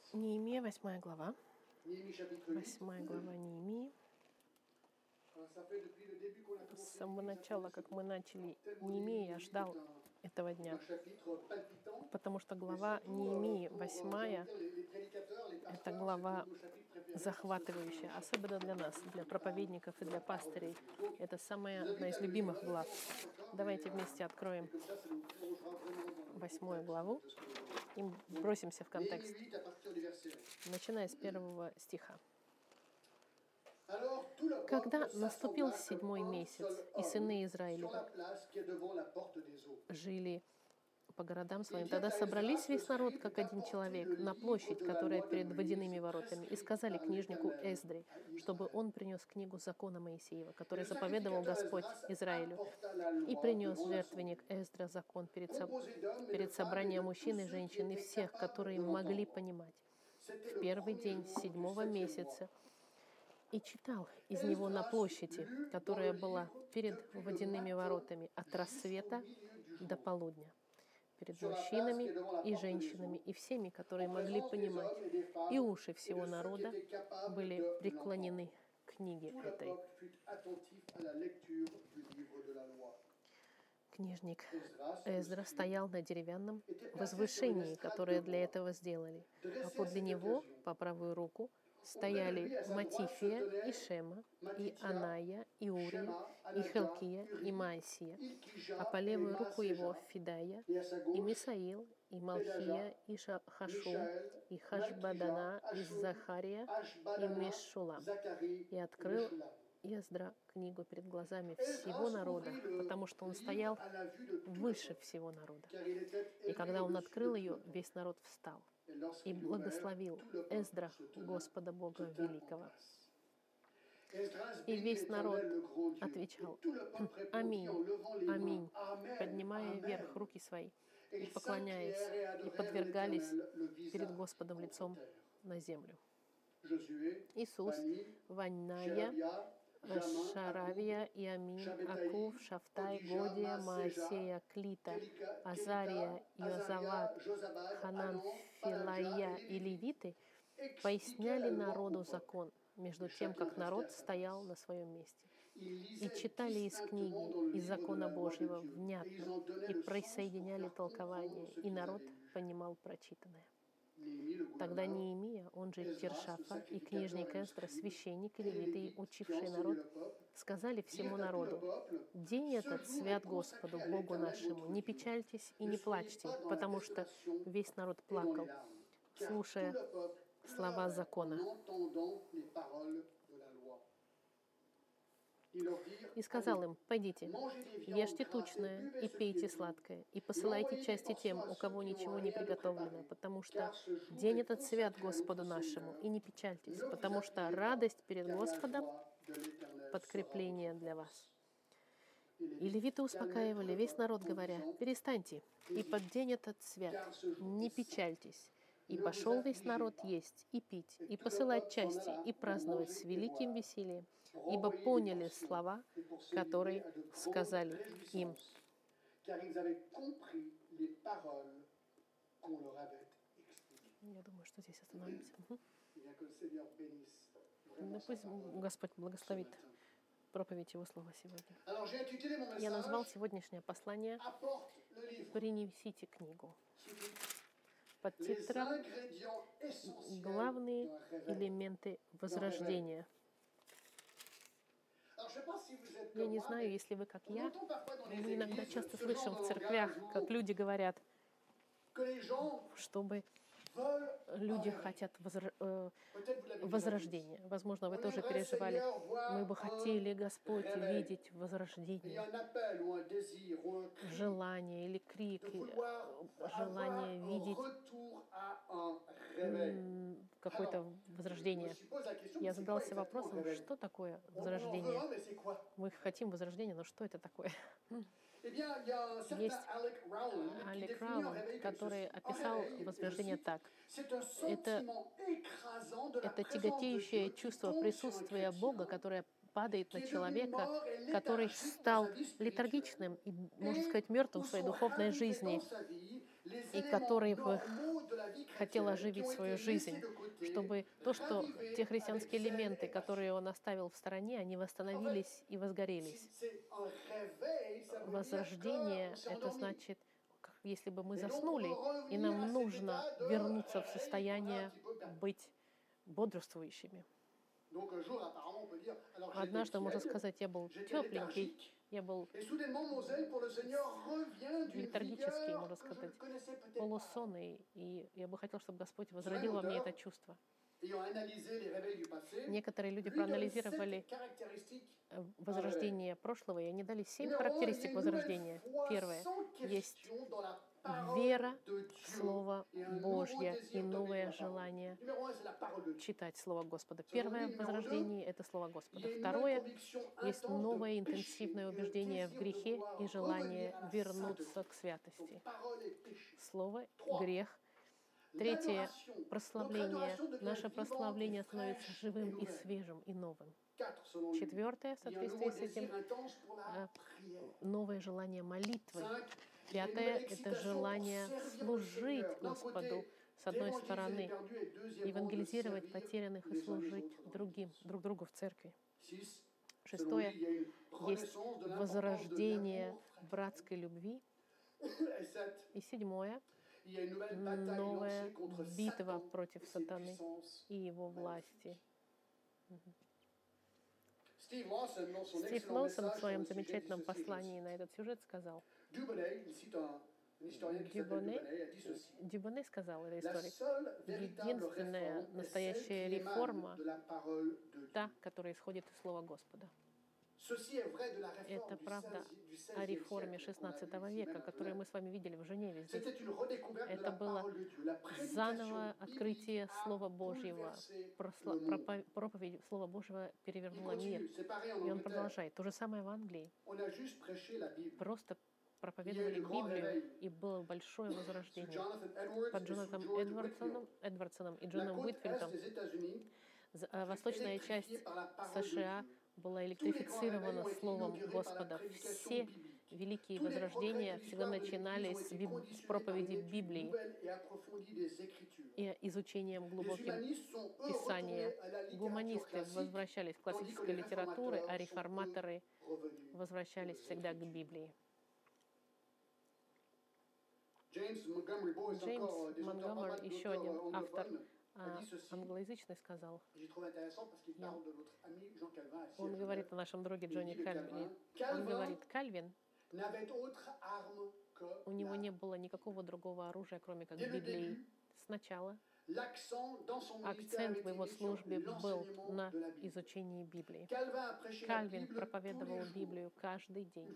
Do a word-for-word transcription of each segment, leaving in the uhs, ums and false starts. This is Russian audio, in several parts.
Неемия, восьмая глава. Néhémie chapitre huit. Восьмая глава Неемии. Alors, ça fait depuis le début qu'on a С commencé самого l'église, начала, j'attendais как ce мы начали tellement Неемии, я Néhémie ждал est un, этого дня, un chapitre palpitant. потому что Mais глава surtout, euh, Неемии, pour, euh, j'ai envie восьмая, de dire, les, les prédicateurs, les это pasteurs, c'est глава un de nos chapitres préférés parce que c'est un захватывающая, chapitre особенно для нас, qui для parle проповедников и de для la parole de пастырей. Dieu. Donc, Это je самая vous одна invite из à le lire. On любимых va le глав. lire ensemble encore, Давайте et, euh, вместе et откроем comme ça, ça nous plongera vraiment dans le восьмую contexte главу de ce que nous avons. и бросимся в Néhémie контекст, huit à partir du verset un. начиная с первого стиха. Alors, tout le Когда peuple наступил s'assembla comme седьмой un месяц, seul и homme сыны sur Израилевы la place qui est devant la porte des eaux. жили по городам Il своим, vient тогда à собрались Esdras, le весь народ, scribe, как один d'apporter человек, le на livre площадь, de la которая loi de перед Moïse, водяными воротами, и сказали prescrite книжнику par l'Éternel Эздре, à чтобы Israël. он принес книгу закона Моисеева, Et который le заповедовал sacrificateur Господь Esdras Израилю, apporta la и loi принес devant жертвенник l'assemblée, Эздра закон перед, со- composé d'hommes et de перед femmes et собранием de tous мужчин и ceux qui женщин и étaient всех, capables которые de могли l'entendre. понимать, C'était в le первый premier день jour du седьмого septième mois. месяца, и читал из него на Esdras площади, lut dans которая le была livre перед depuis le водяными matin воротами от jusqu'au рассвета milieu du до jour, полудня, перед sur la place qui мужчинами est devant la и porte des женщинами eaux, и всеми, en которые могли présence des понимать, hommes et des и femmes уши et всего de ceux qui народа étaient capables были de l'entendre. преклонены к книге Tout le этой. peuple fut attentif à la lecture du livre de la loi. Книжник Esdras, le Эздра scribe, стоял на деревянном était placé sur une возвышении, estrade которое de для bois. этого сделали, а Dressé à подле cette него, occasion, по правую руку, auprès de стояли lui, à sa droite, se Матифия и tenaient Шема, и Matithia, Аная, и Урия, Shema, и Anania, Хелкия, и Uri, Маасия, Ilkija а по et левую руку его Maaseja, Фидая, et à sa и gauche, Мисаил, и Малхия, и Ша- Хашум, Mishaël, и Malkija, Хашбадана, и Ashub, Захария, и Ashbadana, Мешулам. Zacharie И et открыл Meshulam. Эздра книгу перед глазами всего Esdras народа, ouvrit le потому что он livre стоял à la vue de tout le выше peuple, всего народа. car il était И élevé когда он au-dessus de открыл tout ее, le peuple. весь народ встал Et и lorsqu'il l'ouvert, благословил tout le peuple Эздра, se tenait, Господа se Бога tint en Великого. place. Esdras И bénit весь народ l'Éternel, le grand Dieu. отвечал: Et tout le peuple répondit Аминь, en levant les mains, аминь, Amen, поднимая Amen. вверх руки свои Et и ils поклоняясь, s'inclinèrent et и adorèrent подвергались l'Éternel, le перед visage Господом contre лицом terre. на землю. Josué, Иисус, Bani, Ванная, Sherebia, Jamin, Шаравия, Akub, Иамин, Shabbetai, Акув, Шафтай, Odija, Годия, Maaseja, Маасея, Клита, Kelika, Азария, Kelita, Иозават, Azaria, Josabad, Ханан, Anan, Филая Paladia et и les Lévites левиты expliquaient поясняли la loi au народу peuple. закон, между Et тем, chacun как restait народ à sa стоял на place. своем месте. Ils И lisaient читали из distinctement книги, dans le из livre de закона la loi de Божьего Dieu. Et ils внятно, en donnaient и le sens pour присоединяли faire comprendre толкование, ce и qu'ils народ avaient lu. понимал прочитанное. Néhémie, le Тогда gouverneur, Неемия, он же Esdras, le sacrificateur Тершафа, и et книжник le Эздра, scribe, священник и et les левиты, Lévites qui учившие enseignaient народ, le peuple, сказали всему dirent à tout le народу: peuple, «День ce этот jour свят est Господу, consacré à Богу l'Éternel нашему. votre Не Dieu. печальтесь и Ne не soyez плачьте, pas dans la потому что désolation весь народ et dans les плакал, larmes, car tout слушая le peuple слова pleurait en закона». entendant les paroles de la loi. Ils leur dirent: И сказал Allez, им: «Пойдите, mangez des viandes ешьте grasses et тучное buvez и ce qui est пейте doux, сладкое, и et посылайте envoyez des части portions тем, à у ceux кого qui n'ont ничего не rien de приготовлено, préparé, потому что car ce jour день est этот свят consacré à Господу notre нашему, Seigneur. и не печальтесь, Ne vous потому что affligez pas, радость перед car la Господом joie de l'Éternel — sera подкрепление votre для вас». force. Et les И левиты calmaient tout успокаивали le весь peuple народ, en говоря: disant: «Перестаньте, и под день этот свят, car ce jour не est saint. печальтесь». И Ne vous пошел весь affligez народ pas. есть и пить, Et и tout le посылать peuple s'en части, alla и pour праздновать с manger et великим boire, весельем, pour ибо envoyer des поняли portions слова, et pour se которые livrer à de grandes сказали им. réjouissances, car ils avaient compris les paroles qu'on leur avait expliquées. Я думаю, что здесь остановимся. Мгм. Eh bien, que le Seigneur bénisse vraiment Ну, sa пусть parole Господь ce благословит matin. проповедь Его Слова сегодня. Alors, j'ai intitulé mon Я назвал message сегодняшнее послание Apporte le livre. «Принесите книгу». Sous-titre: Под Les титром ingrédients essentiels «Главные d'un réveil. элементы возрождения». Alors, je sais pas si vous êtes Я comme не moi, знаю, mais если вы, как on я, entend parfois dans les мы иногда églises часто ce слышим genre в de церквях, langage как où люди говорят, que les gens чтобы veulent люди un réveil. хотят возра- э, Peut-être vous l'avez déjà dit. возрождения. Возможно, вы On тоже aimerait, переживали. Seigneur, voir Мы бы un хотели, Господь, réveil. видеть Il y a возрождение, un appel ou un désir ou un cri желание или крик, de и, vouloir э, желание avoir un видеть retour à un réveil. м, какое-то Alors, je me возрождение. suppose la question, Я c'est quoi задался exactement un вопросом, réveil? что такое On, on en veut возрождение? un, mais c'est quoi? Мы хотим возрождения, но что это такое? Eh bien, il y a un certain Есть Alec Rowland qui Алек définit un Раунд, réveil comme который ceci. Un описал réveil, et je возрождение cite, так. c'est un Это, sentiment écrasant de la это présence de тяготеющее Dieu qui чувство tombe sur un присутствия Бога, chrétien которое падает qui на est devenu человека, mort et который léthargique dans стал sa vie spirituelle летаргичным и, можно et сказать, мертвым où в своей sont духовной ravirés жизни, dans sa vie les и éléments который в их normaux de la хотел оживить свою жизнь, чтобы то, что те христианские элементы, которые он оставил в стороне, они восстановились и возгорелись. Возрождение — это значит, как если бы мы заснули, и нам нужно вернуться в состояние быть бодрствующими. Однажды можно сказать, я был тепленький, я был летаргический, можно сказать, полусонный, и я бы хотел, чтобы Господь возродил во мне это чувство. Некоторые люди проанализировали возрождение прошлого, и они дали семь характеристик возрождения. Первое — есть вера в Слово Божье и новое желание читать Слово Господа. Первое возрождение — это Слово Господа. Второе — есть новое интенсивное убеждение в грехе и желание вернуться к святости. Слово — грех. Третье — прославление. Наше прославление становится живым и свежим и новым. Четвертое, в соответствии с этим, новое желание молитвы. Пятое — это желание служить Господу, с одной стороны, евангелизировать потерянных и служить другим, друг другу в церкви. Шестое — есть возрождение братской любви. И седьмое — новая битва против сатаны и его власти. Стив Лоусон в своем замечательном послании на этот сюжет сказал, Дюбоне, Дюбоне сказал, это историк, единственная настоящая реформа — та, которая исходит из Слова Господа. Это правда о реформе шестнадцатого века, которую мы с вами видели в Женеве здесь. Это было заново открытие Слова Божьего. Проповедь Слова Божьего перевернула мир. И он продолжает. То же самое в Англии. Просто проповедовали Библию, и было большое возрождение. Под Джонатаном Эдвардсоном, Эдвардсоном и Джоном Уитфилдом восточная часть США была электрифицирована Словом Господа. Все великие возрождения всегда начинались с, биб... с проповеди Библии и изучением глубоким Писания. Гуманисты возвращались к классической литературе, а реформаторы возвращались всегда к Библии. Джеймс Монгомери, еще один автор, а, англоязычный, сказал, я, он говорит о нашем друге Джоне Кальвине, он говорит, Кальвин, у него не было никакого другого оружия, кроме как Библии. Сначала акцент в его службе был на изучении Библии. Кальвин проповедовал Библию каждый день.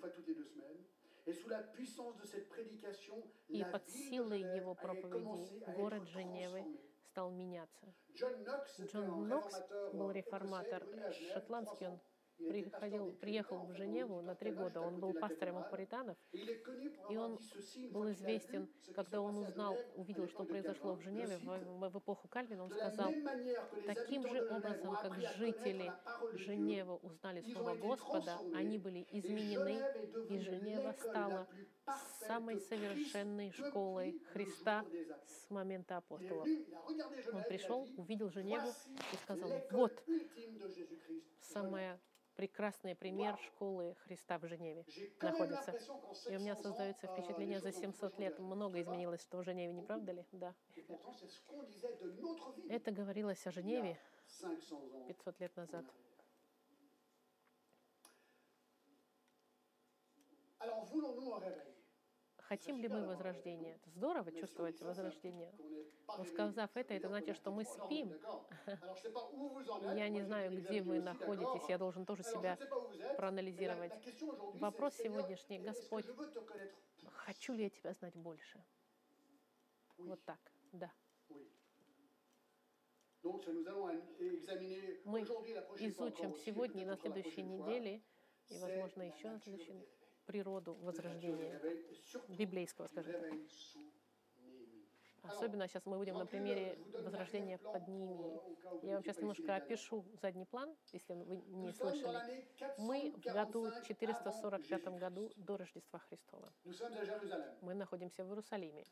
И под силой его проповеди город Женевы стал меняться. Джон Нокс был реформатор шотландский, он приходил, приехал в Женеву на три года, он был пастором у пуританов, и он был известен, когда он узнал, увидел, что произошло в Женеве в, в эпоху Кальвина, он сказал, таким же образом, как жители Женевы узнали Слово Господа, они были изменены, и Женева стала самой совершенной школой Христа с момента апостолов. Он пришел, увидел Женеву и сказал, вот самая прекрасный пример школы Христа в Женеве находится. И у меня создается впечатление, за семьсот лет много изменилось, что в Женеве, не правда ли? Да. Это говорилось о Женеве пятьсот лет назад. Хотим ли мы возрождения? Это здорово чувствовать возрождение. Но сказав это, это значит, что мы спим. Я не знаю, где вы находитесь, я должен тоже себя проанализировать. Вопрос сегодняшний, Господь, хочу ли я Тебя знать больше? Вот так, да. Мы изучим сегодня и на следующей неделе, и, возможно, еще на следующей природу возрождения, библейского, скажем так. Особенно сейчас мы будем на примере возрождения под Неемией. Я вам сейчас немножко опишу задний план, если вы не слышали. Мы в году четыреста сорок пятом году до Рождества Христова. Мы находимся в Иерусалиме.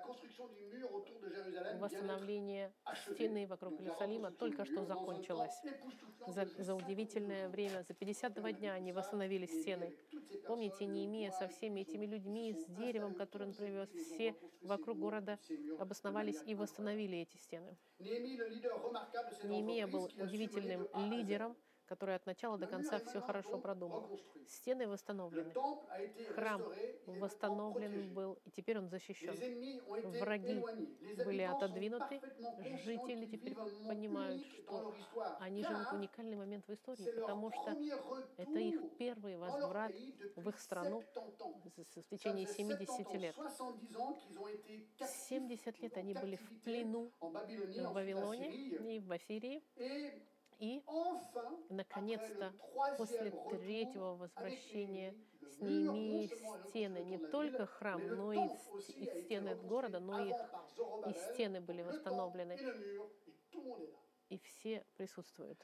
Восстановление стены вокруг Иерусалима только что закончилось. За, за удивительное время, за пятьдесят два дня они восстановили стены. Помните, Неемия со всеми этими людьми, с деревом, которое он привез, все вокруг города обосновались и восстановили эти стены. Неемия был удивительным лидером, который от начала до конца все хорошо продумал. Стены восстановлены. Храм восстановлен был, и теперь он защищен. Враги были отодвинуты. Жители теперь понимают, что они живут уникальный момент в истории, потому что это их первый возврат в их страну в течение семидесяти лет. семьдесят лет они были в плену в Вавилоне и в Ассирии. И, наконец-то, после третьего возвращения с Неемией стены, не только храм, но и стены города, но и, и стены были восстановлены. И все присутствуют.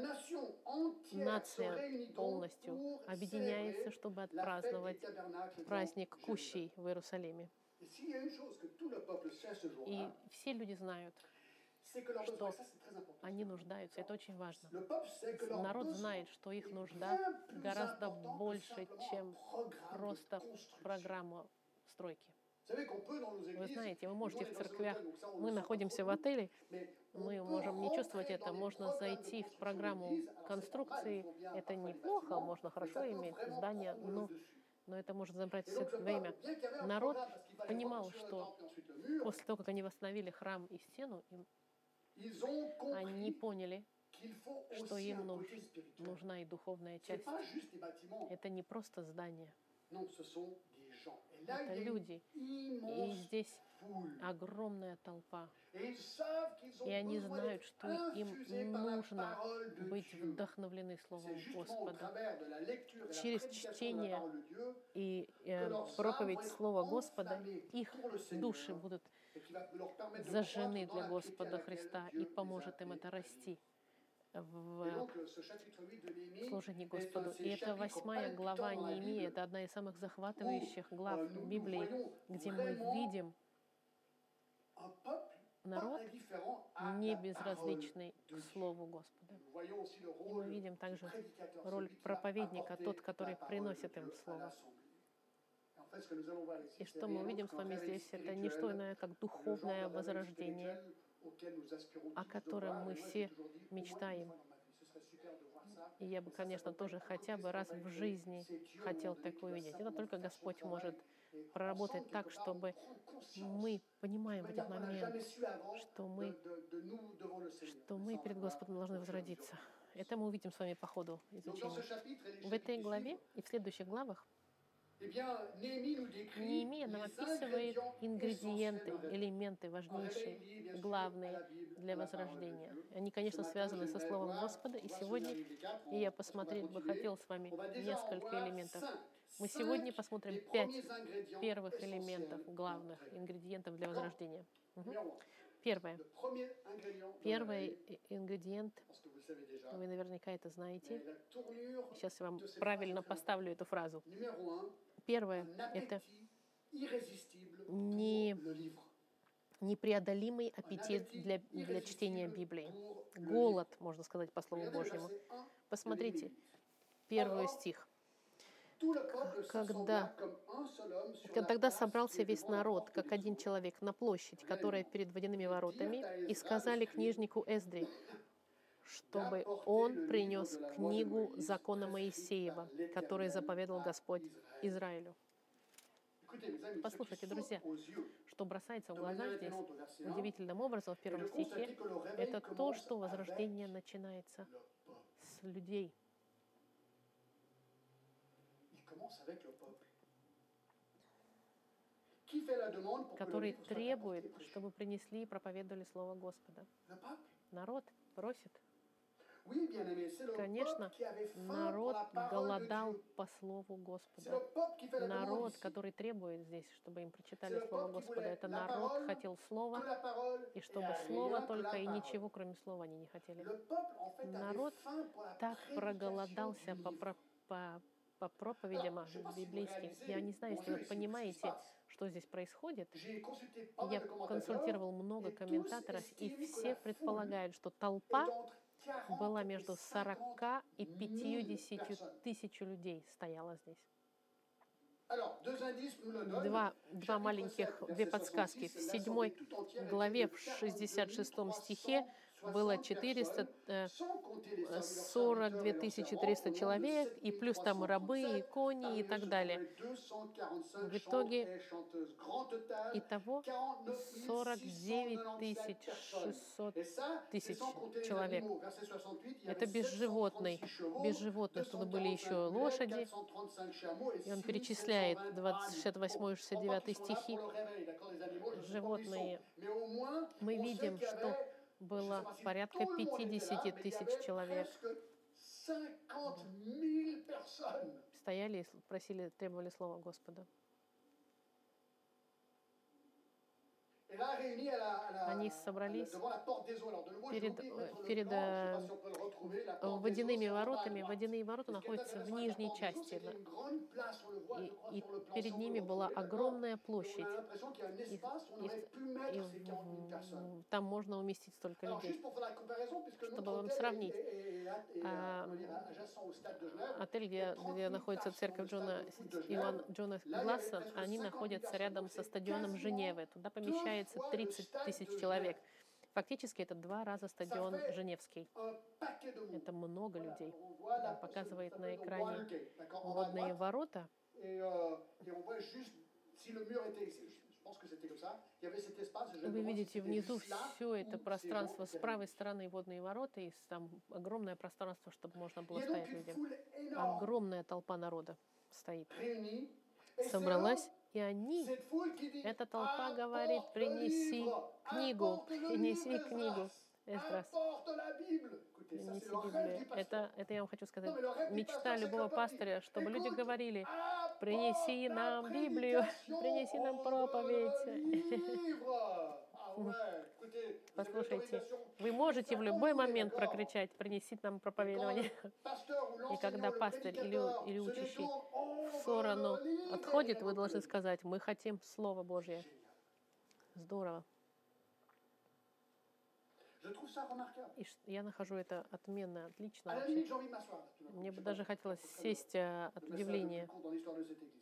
Нация полностью объединяется, чтобы отпраздновать праздник Кущей в Иерусалиме. И все люди знают, что они нуждаются. Это очень важно. Народ знает, что их нужда гораздо больше, чем просто программа стройки. Вы знаете, вы можете в церквях, мы находимся в отеле, мы можем не чувствовать это, можно зайти в программу конструкции, это неплохо, можно хорошо иметь здание, но, но это может забрать все время. Народ понимал, что после того, как они восстановили храм и стену, им они поняли, что им нуж, нужна и духовная часть. Это не просто здание. Это люди. И здесь огромная толпа. И они знают, что им нужно быть вдохновлены Словом Господа. Через чтение и э, проповедь Слова Господа их души будут зажжены для Господа Христа, и поможет им это расти в служении Господу. И это восьмая глава Неемии, это одна из самых захватывающих глав Библии, где мы видим народ не безразличный к Слову Господа. И мы видим также роль проповедника, тот, который приносит им Слово. И что мы увидим с вами здесь, это не что иное, как духовное возрождение, о котором мы все мечтаем. И я бы, конечно, тоже хотя бы раз в жизни хотел такое увидеть. Это только Господь может проработать так, чтобы мы понимаем в этот момент, что мы, что мы перед Господом должны возродиться. Это мы увидим с вами по ходу изучения. В этой главе и в следующих главах Неемия нам описывает ингредиенты, элементы важнейшие, главные для возрождения. Они, конечно, связаны со Словом Господа, и сегодня и я посмотреть бы хотел с вами несколько элементов. Мы сегодня посмотрим пять первых элементов, главных ингредиентов для возрождения. Угу. Первое. Первый ингредиент, вы наверняка это знаете. Сейчас я вам правильно поставлю эту фразу. Первое — это не, непреодолимый аппетит для, для чтения Библии. Голод, можно сказать, по Слову Божьему. Посмотрите, первый стих. Когда, тогда собрался весь народ, как один человек, на площадь, которая перед водяными воротами, и сказали книжнику Эздре, чтобы он принес книгу закона Моисеева, который заповедал Господь Израилю. Послушайте, друзья, что бросается в глаза здесь удивительным образом в первом стихе, это то, что возрождение начинается с людей, который требует, чтобы принесли и проповедовали Слово Господа. Народ просит. Oui, bien-aimé, c'est le Конечно, peuple qui avait faim pour народ la parole de голодал Dieu. по Слову C'est Господа. le peuple qui fait la demande Народ, ici. который требует здесь, чтобы им C'est прочитали le Слово peuple qui Господа. voulait Это la народ parole, хотел Слова, que la parole, и et чтобы rien Слово que только, la и parole. ничего, кроме Слова, они не хотели. Le peuple, en fait, avait Народ faim pour la так prédication проголодался du по, livre. про- по, по Alors, проповедям je ne sais pas si vous библейским. Я не réalisez, знаю, bon если Dieu, вы ici, ce qui se понимаете, passe. что здесь происходит. J'ai consulté pas mal Я de commentateurs, консультировал много et tous комментаторов, и estiment que все la foule предполагают, что est толпа entre была quarante et между cinquante сорока и mille пятьюдесятью personnes. тысяч людей стояла здесь. Alors, deux indices nous le donnent. Два, два Chapitre маленьких, sept, две verset подсказки. В soixante-six, седьмой l'assemblée tout entière главе, était в de шестьдесят шестом quarante-deux mille стихе, trois cent было soixante четыреста, personnes, э, sans compter les hommes, leurs сорок serviteurs две et leurs тысячи servants, триста au nombre de человек, и плюс там рабы, и sept mille trois cent trente-sept. кони, и Parmi eux так se далее. trouvaient deux cent quarante-cinq В chanteurs итоге et chanteuses. Grand total, итого quarante-neuf mille сорок six cent девять quatre-vingt-sept тысяч personnes. шестьсот Et ça, c'est тысяч sans compter les человек. animaux. Verset soixante-huit, il y Это avait без животных, sept cent trente-six chevaux, без животных. Туда были еще deux cent quarante-cinq mulets, лошади. quatre cent trente-cinq chameaux et И он six mille sept cent перечисляет vingt двадцать, ânes. шестьдесят восьмой и шестьдесят Je crois девятый qu'ils sont là стихи. pour le réveil, d'accord, les animaux, je ne sais pas où ils sont. Животные. Mais au moins, Мы on sait видим, qu'il y что avait, je ne sais было pas si порядка tout le monde était là, пятьдесят mais il y тысяч avait человек. presque cinquante mille personnes. Стояли и просили, требовали слова Господа. Et là, réunis à la, à la, Они à la- собрались devant la porte des eaux. Alors, de nouveau, j'ai перед, oublié de mettre le перед plan, je ne sais pas э, si on peut le retrouver. La porte des eaux, водяными c'est en bas à воротами. droite. Водяные Et ворота ce qui est находятся в intéressant avec la нижней porte des eaux, части. c'est qu'il y a une grande place, on le voit, je И, crois, и sur le plan, перед si on peut ними le была retrouver, d'accord. огромная Et on площадь. a l'impression qu'il y a un И, espace où on и- aurait pu и mettre ces quarante mille personnes. в- там можно уместить столько Alors, людей. juste pour faire la comparaison, puisque notre Чтобы вам hôtel сравнить, est, est- est- est- est, а, comment dire, adjacent au stade de Genève, отель, il y a где, trente где mille находится places dans церковь le Джона, stade de foot de Иван Genève. Джона Là, il y avait Гласса, presque они cinquante mille находятся personnes. рядом Donc, со c'est стадионом quasiment Женевы. Туда deux помещается fois le тридцать stade тысяч de человек. Genève. Фактически это два раза Ça стадион fait Женевский. un paquet de monde. Это много Voilà, людей. on voit la, Он показывает ce на fameux экране water gate, d'accord, en bas à водные droite. ворота. Et, euh, et on voit juste, si le mur était ici, je pense que c'était comme ça, il y avait cet espace. Je me Вы demande si видите c'était внизу juste là все это où ces gens пространство. С étaient правой réunis. стороны водные ворота, и там огромное пространство, чтобы можно Il было y a donc стоять une людям. foule énorme Огромная толпа народа стоит. réunie. Et c'est Собралась, eux, и они, cette foule qui dit, эта толпа говорит, apporte le принеси livre, книгу, apporte le принеси livre, книгу. Esdras, Эсдрас, apporte la Bible. Écoutez, ça c'est принеси le rêve Библию. du pasteur. Это, это я вам хочу сказать. Non, mais le rêve du Мечта pasteur, c'est que любого le peuple пастыря, dit, чтобы люди écoute, говорили, apporte принеси la нам Библию, prédication, принеси нам on veut проповедь. le livre. Ah ouais, écoutez, vous avez Послушайте, l'autorisation. вы можете в Ça, любой quand vous voulez, момент d'accord. прокричать, принесите нам Et quand проповедование. le pasteur ou И когда l'enseignant, le пастырь или, prédicateur или se учащий détourne, on в veut сторону le livre, отходит, et вы on должны veut le сказать, мы хотим Слово Божье. livre. Здорово. Je trouve ça remarquable. И ш- я нахожу это отменно, отлично À la вообще. limite, j'ai envie de m'asseoir. là, tout d'un coup. Мне Je бы sais даже pas, хотелось c'est сесть э, le от message le plus удивления. court dans l'histoire de cette église.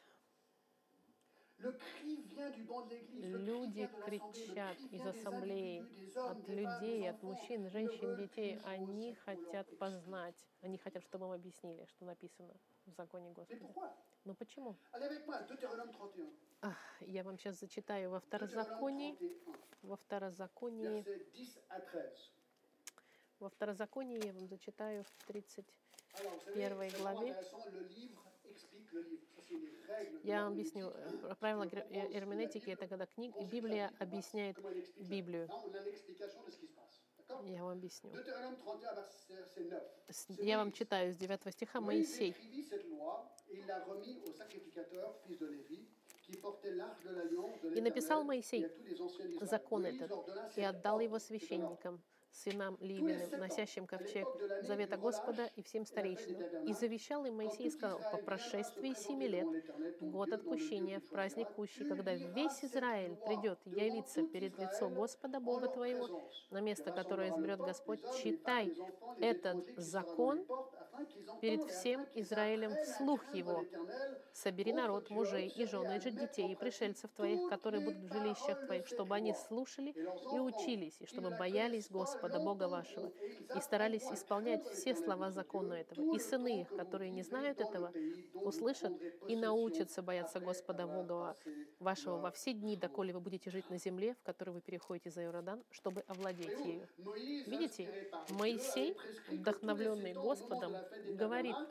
Le cri vient du banc de l'église, le cri Люди vient de l'assemblée, le кричат cri из vient des ассамблеи, individus, des hommes, от des femmes, des людей, от enfants. мужчин, Ils ne женщин, veulent детей. qu'une chose, Они c'est qu'on leur хотят explique. познать, они хотят, чтобы им объяснили, что написано в законе Mais Господа. pourquoi? Но почему? Allez avec moi, Deutéronome trente et un. Ах, я вам сейчас зачитаю во Deutéronome Второзаконии, trente et un, во Второзаконии, versets dix à treize. во Второзаконии я вам зачитаю в тридцать Alors, vous savez, первой c'est vraiment главе. intéressant, le livre explique le livre. Ça, c'est les рègles de Я вам l'herméneutique, объясню hein. э, правила Tu veux гер- comprendre ce qu'est la эрменетики. Bible, Это когда книга, consulte la Библия Bible, voir объясняет comment elle explique la Библию. Là, on a l'explication de ce qui se passe. D'accord? Я вам объясню. Deutéronome trente et un, verset neuf. С- C'est Я вам Moïse. читаю с девятого стиха. Moïse Моисей. écrivit cette loi et il l'a remis au sacrificateur, fils de Lévi, qui portait l'arche de l'alliance de И написал l'Éternel, Моисей et à tous les anciens d'Israël. закон Moïse этот leur donna и cet отдал ordre. его C'est alors, священникам, сынам tous les Ливиным, sept ans, носящим à ковчег l'époque de l'année завета du Господа relâche и всем et la fête des старейшинам. И tabernacles, завещал им quand Моисей, tout сказал, по Israël viendra se прошествии présenter семи лет, devant l'Éternel, ton год Dieu, dans le lieu отпущения, qu'il в праздник choisira, кущий, tu когда liras весь cette Израиль loi придет devant явиться tout перед лицо Israël Господа en Бога leur твоего, présence. на Tu место, которое rassembleras le изберет peuple, Господь, les hommes, les femmes, читай les enfants, les этот étrangers qui sera dans les закон portes, afin qu'ils перед entendent et всем afin qu'ils Израилем apprennent à вслух craindre его. l'Éternel, Собери votre народ, Dieu, мужей и observer жены, à и же mettre детей, en и pratique пришельцев твоих, toutes которые les будут в жилищах paroles de твоих, cette чтобы они loi. слушали Et leurs и enfants, учились, и qui чтобы ne la боялись connaissent pas, Господа, Бога вашего, l'entendront, et ils и старались apprendront à исполнять craindre все l'Éternel, слова votre закона Dieu, этого. tout И le сыны temps их, que vous которые не vivrez знают dans le этого, pays dont vous услышат prendrez и possession научатся бояться après Господа avoir Бога passé вашего во leur все дни, jour. доколе вы будете жить на земле, в которой вы переходите за Иордан, чтобы овладеть Voyez-vous, ею. Moïse, Видите, inspiré par Dieu, Моисей, avait prescrit que tous les вдохновленный sept ans, au moment de Господом, la fête des говорит, tabernacles,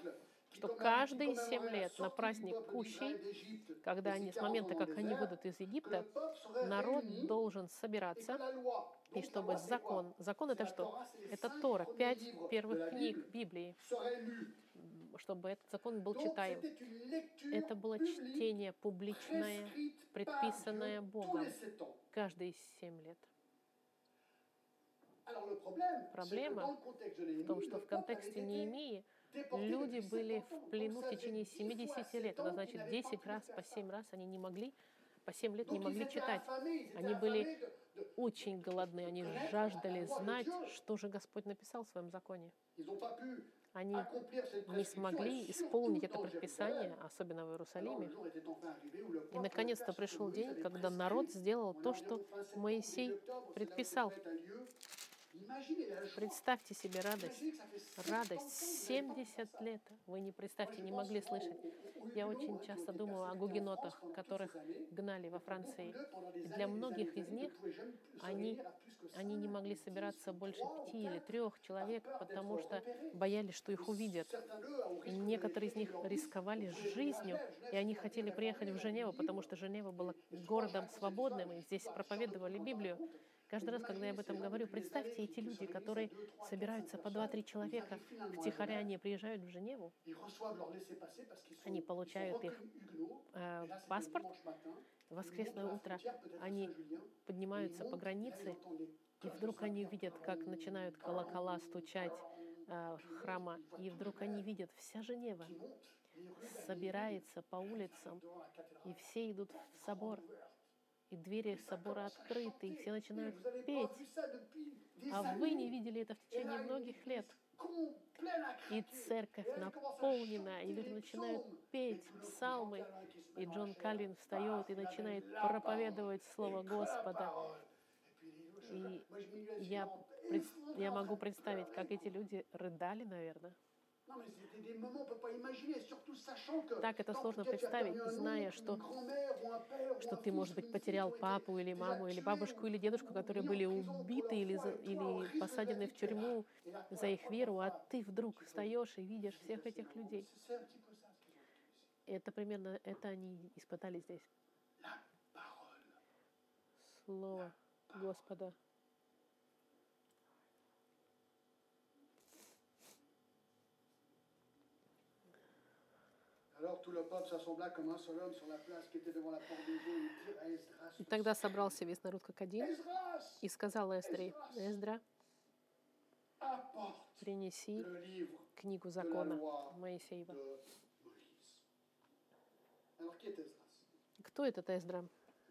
что каждые семь лет на праздник Кущей, когда они, с момента, как они выйдут из Египта, народ должен собираться, и чтобы закон, закон это что? Это Тора, пять первых книг Библии, чтобы этот закон был читаем. Это было чтение публичное, предписанное Богом каждые семь лет. Проблема в том, что в контексте Неемии люди были в плену в течение семидесяти лет. Это значит, десять раз по семь раз они не могли, по семь лет не могли читать. Они были очень голодны, они жаждали знать, что же Господь написал в своем законе. Они не смогли исполнить это предписание, особенно в Иерусалиме. И наконец-то пришел день, когда народ сделал то, что Моисей предписал. Представьте себе радость. Радость. семьдесят лет. Вы не представьте, не могли слышать. Я очень часто думала о гугенотах, которых гнали во Франции. И для многих из них они, они не могли собираться больше пяти или трех человек, потому что боялись, что их увидят. И некоторые из них рисковали жизнью, и они хотели приехать в Женеву, потому что Женева была городом свободным, и здесь проповедовали Библию. Каждый раз, когда я об этом говорю, представьте, эти люди, которые собираются по два-три человека, втихаря они приезжают в Женеву, они получают их э, паспорт, в воскресное утро они поднимаются по границе, и вдруг они видят, как начинают колокола стучать э, храма, и вдруг они видят, вся Женева собирается по улицам, и все идут в собор. И двери собора открыты, и все начинают петь. А вы не видели это в течение многих лет. И церковь наполнена, и люди начинают петь псалмы. И Джон Кальвин встает и начинает проповедовать Слово Господа. И я, я могу представить, как эти люди рыдали, наверное. Так это сложно представить, зная, что, что ты, может быть, потерял папу или маму, или бабушку, или дедушку, которые были убиты или, за, или посажены в тюрьму за их веру, а ты вдруг встаешь и видишь всех этих людей. Это примерно это они испытали здесь. Слово Господа. И тогда собрался весь народ как один и сказал Эздре: Эздра, принеси книгу закона Моисеева. Кто этот Эздра?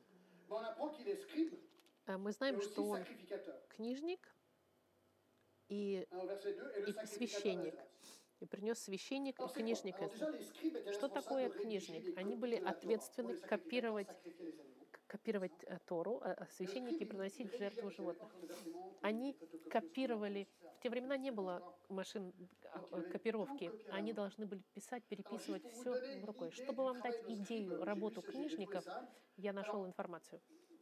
Мы знаем, что он книжник и, и священник. И принес священник и книжник. Что такое книжник? Они были ответственны копировать, копировать Тору, а священники приносить в жертву животных. Они копировали. В те времена не было машин копировки. Они должны были писать, переписывать все рукой. Чтобы вам дать идею работу книжников, я нашел информацию.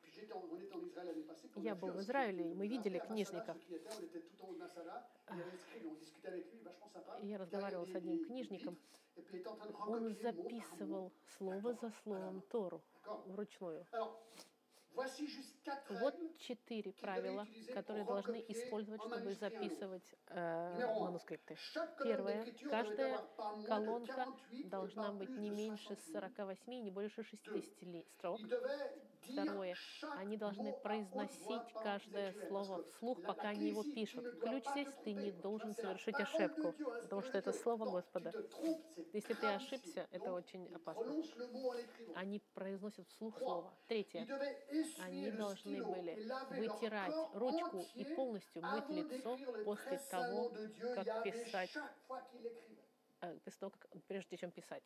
Я был в Израиле, и мы видели книжников. Я разговаривал с одним книжником. Он записывал слово за словом Тору вручную. Вот четыре правила, которые должны использовать, чтобы записывать э, манускрипты. Первое. Каждая колонка должна быть не меньше сорока восьми, не больше шестидесяти строк. Второе. Они должны произносить каждое слово вслух, пока они его пишут. Ключ здесь: ты не должен совершить ошибку, потому что это Слово Господа. Если ты ошибся, это очень опасно. Они произносят вслух слово. Третье. Они должны были вытирать ручку и полностью мыть лицо после того, как писать, э, после того, как, прежде чем писать.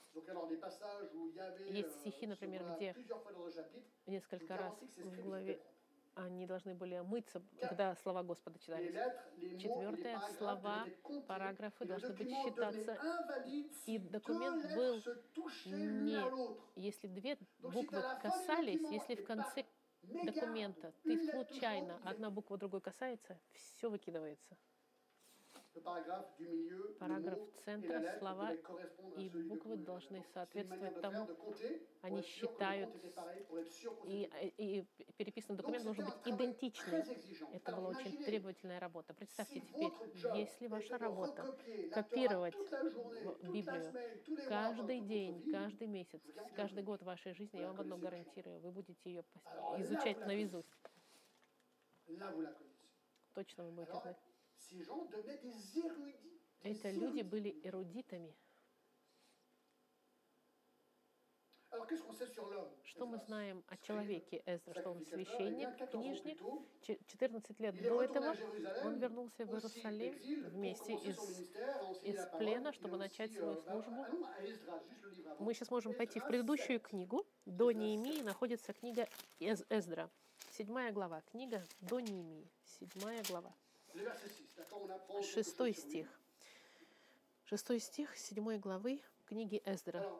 Есть стихи, например, где несколько раз в главе они должны были мыться, когда слова Господа читались. Четвертое. Слова, параграфы должны быть считаться. И документ был не... Если две буквы касались, если в конце документа ты случайно одна буква другой касается, все выкидывается. le paragraphe du milieu, le Параграф mot et la центра, lettre слова devaient correspondre à и celui de буквы Cohen. должны Donc, c'est une manière соответствовать de тому. faire, de compter, pour Они être sûr que le считают, compte était pareil, pour être sûr qu'on и, s'était и переписанный Donc, документ c'était должен un быть travail идентичный. très exigeant. Это Alors, была очень imaginez, требовательная работа. Представьте si теперь, votre job если ваша était de работа recopier la Torah копировать toute la journée, в- toute la Библию semaine, tous les mois каждый de votre день, vie, каждый месяц, je vous garantis un каждый truc. год вашей жизни, Vous я la вам одно connaissez par cœur. гарантирую, вы будете ее пос- Alors là, изучать vous la наизусть. Là, vous la connaissez. Точно вы будете Alors, знать. ces gens devenaient des érudits. des Это люди érudits. были эрудитами. Alors, qu'est-ce qu'on sait sur l'homme, Что мы Esdras? знаем о Scribe, человеке Эздра, что он sacrificateur, eh священник, bien, quatorze ans plus книжник. tôt, Че- четырнадцать лет il est до retourné à этого он Jérusalem, вернулся в aussi Иерусалим d'exil, pour вместе commencer из, son ministère, à enseigner из la parole. плена, Il est чтобы начать aussi, свою euh, bah, службу. allons à Esdras, juste le livre avant. Мы сейчас можем пойти в Esdras предыдущую sept. книгу. До Esdras Неемии sept. находится книга Эз- Эздра. Седьмая глава. Книга до Неемии. Седьмая глава. Le verset six, d'accord, on apprend quelque Шестой chose sur lui. стих. Шестой стих седьмой главы книги Эздра. Alors,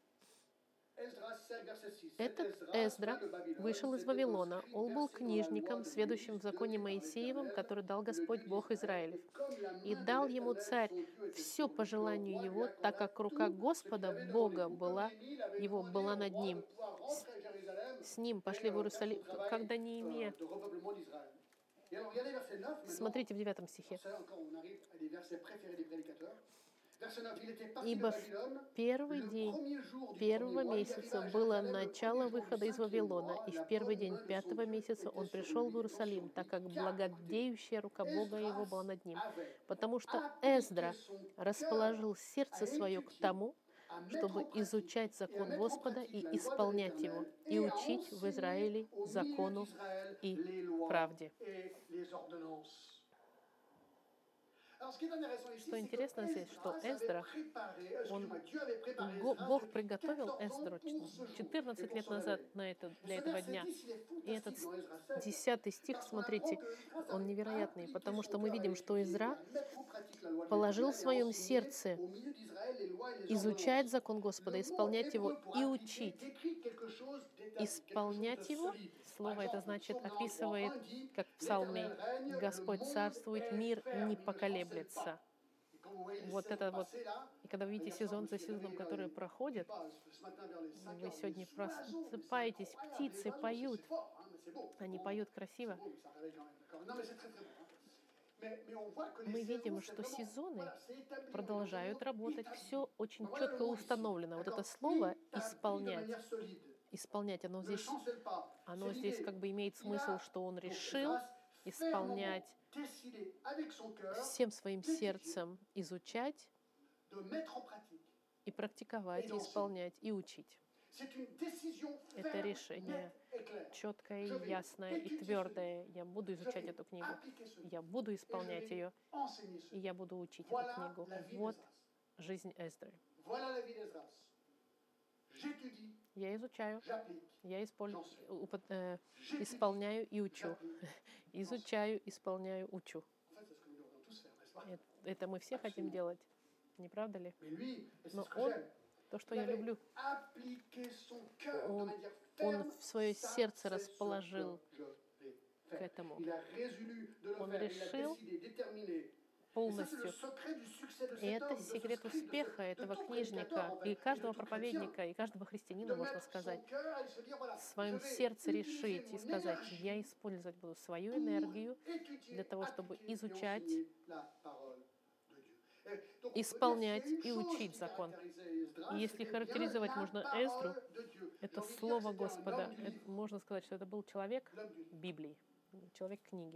Esdras sept, verset six. Этот Cet Esdras Эздра vint de Babylone, вышел из c'était un Вавилона. scribe Он был versé dans la loi книжником, de сведущим в Moïse, законе donné par Моисеевом, l'Éternel, который дал le Господь Dieu Бог d'Israël. Израилев. Et comme la И main de дал ему l'Éternel, царь son Dieu, était все sur lui, по le желанию roi lui его, так accorda как рука tout ce qu'il Господа, avait devant Бога lui. Comme была, Néhémie l'avait его demandé была au над roi de ним. pouvoir rentrer à Jérusalem С ним et, пошли в euh, faire son Иерусалим, travail, когда euh, Неемия. de repeuplement d'Israël. Et alors, regardez verset neuf maintenant. Смотрите в девятом стихе. Ça, encore, on arrive à des versets préférés des prédicateurs. Verset neuf, il était parti de Ибо в Babylone. первый Le день premier jour du первого premier mois, il месяца arriva à было Jérusalem. Le начало premier jour du выхода из cinquième Вавилона, mois, и la в первый bonne день main de son пятого Dieu месяца était он sur пришел в lui. Иерусалим, Attention, так как car, écoutez, благодеющая рука Бога его была Esdras над ним. avait Потому что appliqué Эздра son cœur расположил сердце à свое к étudier, тому, à mettre чтобы en pratique изучать et à закон mettre en Господа pratique и la loi de исполнять его, l'Éternel и et à учить в enseigner Израиле au milieu закону d'Israël и les lois правде. et les ordonnances. Alors, ce qui est intéressant ici, Что c'est интересно que здесь, что Esdras avait Эздра, préparé, он, excuse-moi, Dieu avait préparé Го- Esdras Бог depuis приготовил quatorze ans Эздру pour ce jour et четырнадцать pour лет ce назад réveil. на это, Et для ce этого verset дня. dix, il est И этот fantastique dans Esdras sept. десятый стих, Parce qu'on apprend смотрите, que Esdras он avait невероятный, appliqué потому son что мы cœur à видим, что étudier et Изра à mettre en pratique la loi de положил в l'Éternel et à своем enseigner сердце au milieu d'Israël les lois et les изучать ordonnances. закон Господа, Le mot исполнять его hébreu pour и appliquer учить. décrit quelque chose d'établi, quelque chose de Исполнять его, solide. Par слово это exemple, значит, Psaume описывает, quatre-vingt-trois un dit, как в псалме, l'Éternel règne, le Господь monde царствует, est мир ferme, не il ne chancelle поколеблется. pas. Et quand vous voyez les Вот saisons это вот, passer là, и когда вы видите hier soir, сезон je за me suis сезоном, réveillé который vers les- проходит, je sais pas, ce matin vers les cinq вы heures, сегодня les oiseaux, mais c'est просыпаетесь, incroyable, птицы les oiseaux, поют, c'est fort, hein, mais c'est beau. они Bon, поют c'est красиво. beau, mais ça réveille quand même, d'accord. Non, mais c'est très très beau, hein. Mais- mais on voit que les Мы saisons, видим, c'est что vraiment- сезоны voilà, c'est établi, on est dans un продолжают monde работать, établi. все очень Ben voilà четко le mot ici, установлено. Вот это d'accord. слово Établi de исполнять, manière solide. исполнять, оно Ne здесь, chancelle pas. оно C'est здесь l'idée. как бы имеет Il смысл, a, что он donc, решил Esdras, исполнять fermement décidé avec son cœur всем своим d'étudier, сердцем, изучать de mettre en pratique. и практиковать, и исполнять, и учить. C'est une décision Это ferme, решение nette et claire. четкое, Je vais ясное и étudier твердое. Я буду Je изучать vais эту книгу, appliquer ce livre. я буду Et je исполнять vais ее, enseigner ce и livre. я буду учить эту Voilà книгу. la vie Вот d'Esdras. жизнь Эздры. Voilà la vie d'Esdras. J'étudie, Я изучаю, j'applique. я исполняю, J'enseigne. J'étudie, исполняю и учу. j'applique. Изучаю, исполняю, учу. En fait, c'est ce que nous devrions tous faire, n'est-ce pas? Это, это мы все хотим делать, не правда ли? Mais lui, et c'est Но ce que он, j'aime, то, что il я avait люблю, appliqué son cœur de он, manière он ferme. в свое Ça, сердце c'est ce расположил que je vais к faire. этому Il a résolu de le Он faire, il a решил décidé, déterminé. Et ça, c'est le полностью. secret du succès de И cet это homme, de ce секрет scribe, de ce- успеха de этого tout книжника prédicateur, en fait, и et de каждого tout chrétien. проповедника, и каждого De христианина, можно mettre son сказать, cœur et se dire, voilà, в своем je vais сердце utiliser решить и mon сказать, énergie я использовать буду свою pour энергию étudier, для того, чтобы appliquer et изучать, enseigner la parole de Dieu. Et donc, on peut dire, исполнять s'il y a une и chose учить qui закон. caractérisait Esdras, И если c'était bien характеризовать la можно parole Эздру, de Dieu. J'ai это envie de dire que слово c'était un Господа, homme du это livre, можно сказать, что это был человек l'homme du livre. Библии, человек книги.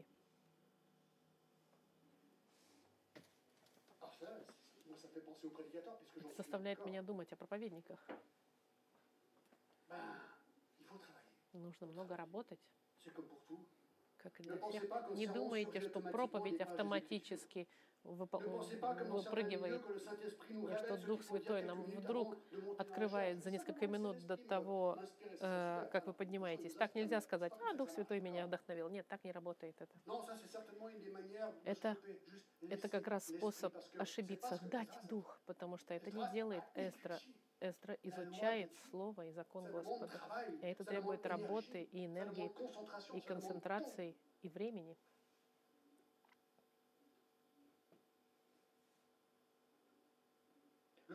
Alors ça, c'est- moi, ça fait penser aux prédicateurs, puisque j'en Это suis заставляет d'accord. меня думать о проповедниках. Ben, il faut travailler. Нужно много работать, C'est comme pour tout. как и Ne для pensez всех. pas qu'un Не sermon думайте, surgit что automatiquement проповедь des pages автоматически выпо- Ne pensez pas comme dans certains milieux выпрыгивает, que le Saint-Esprit nous и что révèle ce Дух qu'il faut dire Святой quelques нам minutes вдруг avant de monter dans la открывает chair. за C'est несколько simplement минут le до Saint-Esprit того, me- m'inspirait, c'est э, super. как вы Alors, поднимаетесь. personne Так ne нельзя sache сказать, comment а, ça Дух marche. Святой меня вдохновил. Нет, так не работает это. Non, ça c'est certainement une des manières de Это- se tromper. Juste Это laisser как раз l'esprit, способ parce que c'est ошибиться, pas ce que дать Esdras a дух, потому что это fait. не Esdras делает a Эстра. étudié. Эстра изучает Слово и закон Ça demande Господа. travail, И это ça требует demande работы énergie, и ça энергии, demande concentration, и ça demande temps. концентрации, и времени.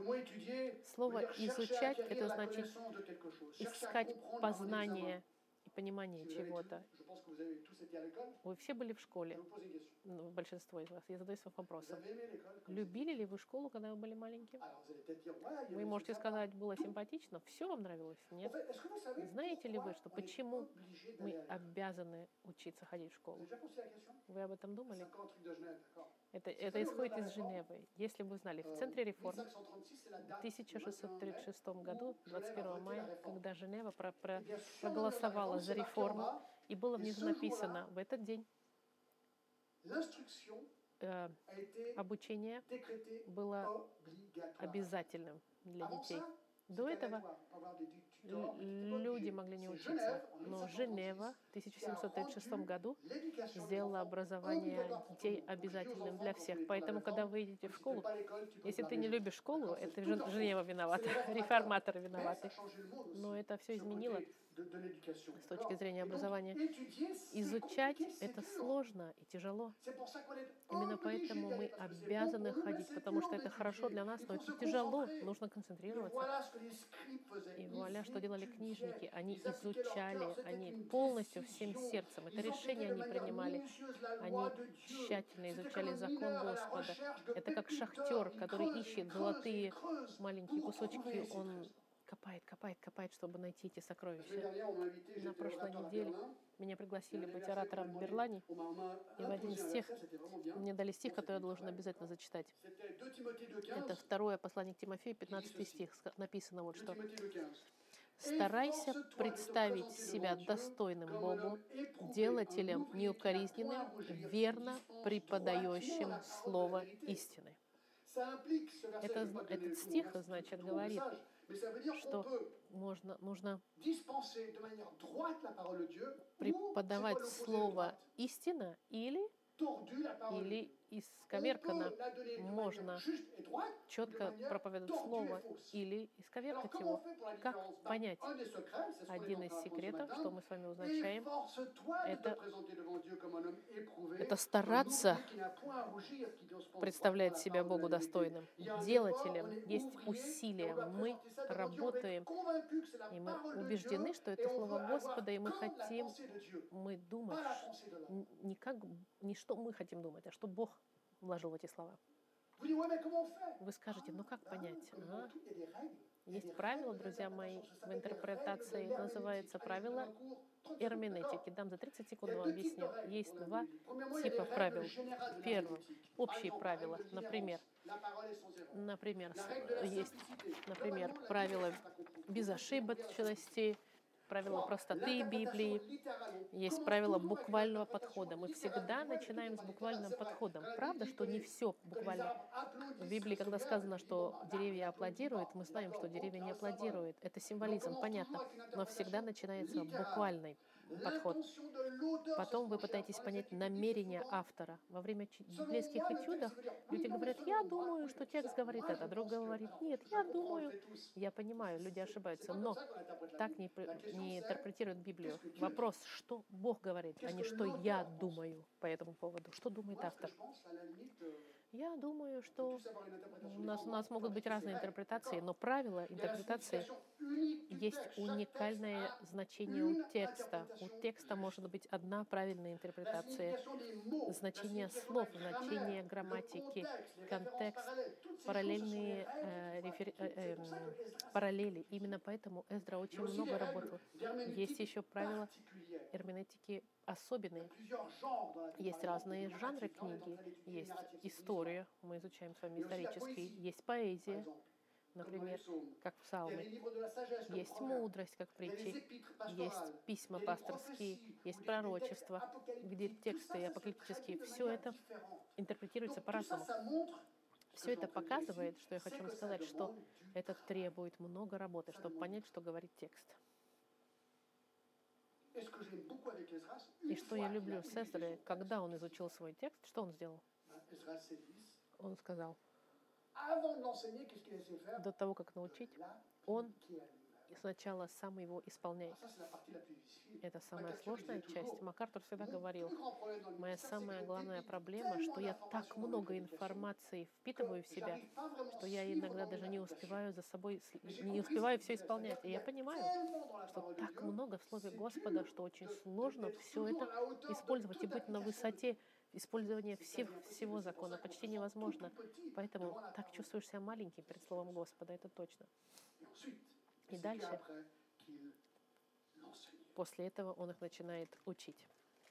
Слово «изучать» — это значит искать познание и понимание чего-то. Вы все были в школе, ну, большинство из вас. Я задаюсь вопросом. Любили ли вы школу, когда вы были маленькие? Вы можете сказать, было симпатично, все вам нравилось? Нет? Знаете ли вы, что почему мы обязаны учиться ходить в школу? Вы об этом думали? Это, это исходит из Женевы. Если бы вы знали, в центре реформ в тысяча шестьсот тридцать шестом году, двадцать первого мая, когда Женева про, про, проголосовала за реформу, и было внизу написано, в этот день э, обучение было обязательным для детей. До этого люди могли не учиться, но Женева в тысяча семьсот тридцать шестом году сделала образование детей обязательным для всех. Поэтому, когда вы идете в школу, если ты не любишь школу, это Женева виновата, реформаторы виноваты. Но это все изменило с точки зрения образования. Изучать — это сложно и тяжело. Именно поэтому мы обязаны ходить, потому что это хорошо для нас, но это тяжело, нужно концентрироваться. И вуаля, что делали книжники? Они изучали, они полностью всем сердцем. Это решение они принимали. Они тщательно изучали закон Господа. Это как шахтер, который ищет золотые маленькие кусочки. Он копает, копает, копает, чтобы найти эти сокровища. На прошлой неделе меня пригласили быть оратором в Берлане, и в один стих мне дали стих, который я должен обязательно зачитать. Это второе послание к Тимофею, пятнадцатый стих. Написано вот что. «Старайся представить себя достойным Богу, делателем неукоризненным, верно преподающим слово истины». Это, этот стих, значит, говорит, что можно, нужно преподавать слово истина или, или исковеркано. Можно четко проповедовать слово или исковеркать его. Как понять? Один из секретов, что мы с вами узнаем, это, это стараться представлять себя Богу достойным. Делателем есть усилия. Мы работаем, и мы убеждены, что это слово Господа, и мы хотим, мы думать не как, не что мы хотим думать, а что Бог вложил в эти слова. Вы скажете, ну как понять? А? Есть правило, друзья мои, в интерпретации, называется правило эрменетики. Дам за тридцать секунд вам объясню. Есть два типа правил. Первое, общие правила. Например, например, есть, например, правила безошибочности, правила простоты Библии, есть правила буквального подхода. Мы всегда начинаем с буквальным подходом. Правда, что не все буквально. В Библии, когда сказано, что деревья аплодируют, мы знаем, что деревья не аплодируют. Это символизм, понятно. Но всегда начинается буквальный подход. Потом вы пытаетесь понять намерение автора. Во время библейских этюдов люди говорят, я думаю, что текст говорит это, друг говорит, нет, я думаю. Я понимаю, люди ошибаются, но так не, не интерпретируют Библию. Вопрос, что Бог говорит, а не что я думаю по этому поводу. Что думает автор? Я думаю, что у нас, у нас могут быть разные интерпретации, но правила интерпретации есть уникальное значение у текста. У текста может быть одна правильная интерпретация. Значение слов, значение грамматики, контекст, параллельные э, рефер... э, э, параллели. Именно поэтому Эздра очень много работал. Есть еще правила эрменетики особенные. Есть разные жанры книги. Есть история, мы изучаем с вами исторический. Есть поэзия, например, как в псалме. Есть мудрость, как в притче. Есть письма пасторские, есть пророчества, где тексты апокалиптические. Все это интерпретируется по-разному. Все это показывает, что я хочу вам сказать, что это требует много работы, чтобы понять, что говорит текст. И что я люблю с Эзрой, когда он изучил свой текст, что он сделал? Он сказал, до того, как научить, он сначала сам его исполняй. Alors ça, c'est la partie la plus difficile. Это самая MacArthur, il сложная disait часть. toujours, МакАртур всегда mon говорил, plus grand problème dans le моя ministère, c'est que самая je главная débite проблема, tellement что я так d'informations dans mes много prédications информации que впитываю в себя, j'arrive pas vraiment что à я suivre иногда dans mes даже не applications. успеваю за собой, с- Mais j'ai не compris ce успеваю qu'il все disait, исполнять. c'est-à-dire И qu'il y я a понимаю, tellement dans la что parole de так Dieu, много в Слове c'est Господа, dur что очень de- сложно d'être все toujours это à la hauteur de использовать и toute быть на application de высоте Dieu. использования C'est всех, quasi impossible. всего C'est pour закона. ça qu'on Почти se sent tout, невозможно. tout petit Поэтому devant la так parole. чувствуешь себя маленьким перед Словом Господа, это точно. Et ensuite, И c'est дальше, qu'après qu'il l'enseignait. после этого он их начинает учить.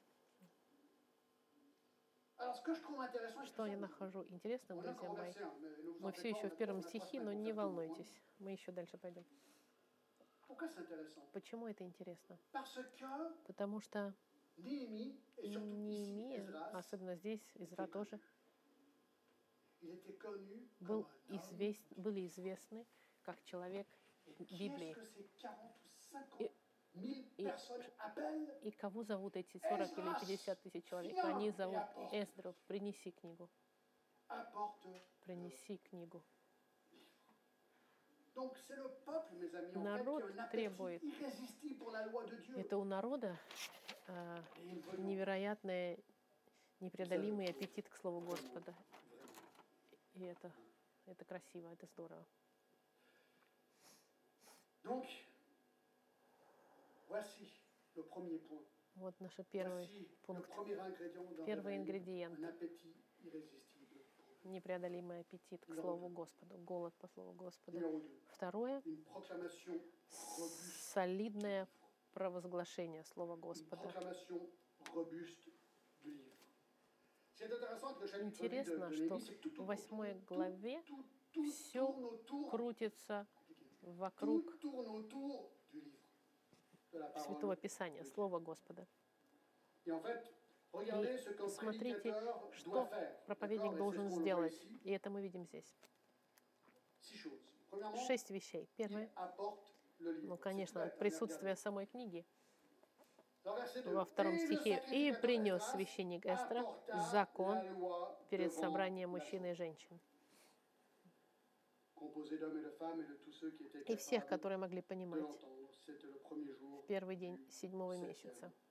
Alors, ce que je trouve intéressant, et Что c'est я ça, нахожу интересным, on est друзья encore au мои, verset un, mais ne vous мы en все faites pas, еще on в a первом on a trois стихе, но semaines не pour faire tout le волнуйтесь, мы еще дальше пойдем. point. Pourquoi c'est intéressant? Почему это интересно? Parce que Потому что Néhémie, et surtout ici Неемия, Esdras, особенно здесь, Изра тоже, il était connu был comme un homme. извест, были известны как человек Et qui est-ce Библии. que ces quarante ou cinquante Et- mille et- personnes appellent? И кого зовут эти сорок или пятьдесят тысяч человек? Они зовут Эздру, принеси книгу, Apporte. принеси книгу. Donc c'est le peuple, mes amis, en Народ fait, qui a un appétit требует. irrésistible pour la loi de Dieu. Это у народа а, Et ils veulent невероятный, непреодолимый аппетит к Слову Господа. И это, это красиво, это здорово. Donc, voici le premier point. Вот наш первый Voici le пункт. premier ingrédient d'un Первый réveil, ингредиент. un appétit irrésistible. Непреодолимый аппетит к Слову Господу, голод по Слову Господа. Numéro deux, Второе une proclamation robuste. солидное провозглашение Слова Une Господа. proclamation robuste du livre. C'est intéressant que le chapitre huit de, Интересно, de что Néhémie, c'est que tout, в tout, восьмой tout, главе tout, tout всё tourne autour, крутится tout вокруг tourne autour du livre, de la Святого parole. Писания, Слова Господа. Et en fait, regardez ce qu'un смотрите, prédicateur doit что faire. проповедник D'accord? Et должен c'est ce qu'on voit сделать. ici. И это мы видим здесь. Six choses. Premièrement, Шесть вещей. il Первое, apporte le livre. ну, C'est конечно, tout bête, hein, присутствие regardez. самой книги. Dans verset deux, Во втором «Et le стихе. «И sacrificateur принес Esdras священник Эстра apporta закон la loi перед devant собранием la мужчин и женщин». composé d'hommes et de femmes et de tous ceux qui étaient И всех, capables которые могли de понимать. l'entendre. C'était le premier jour В первый день du седьмого septième месяца. mois.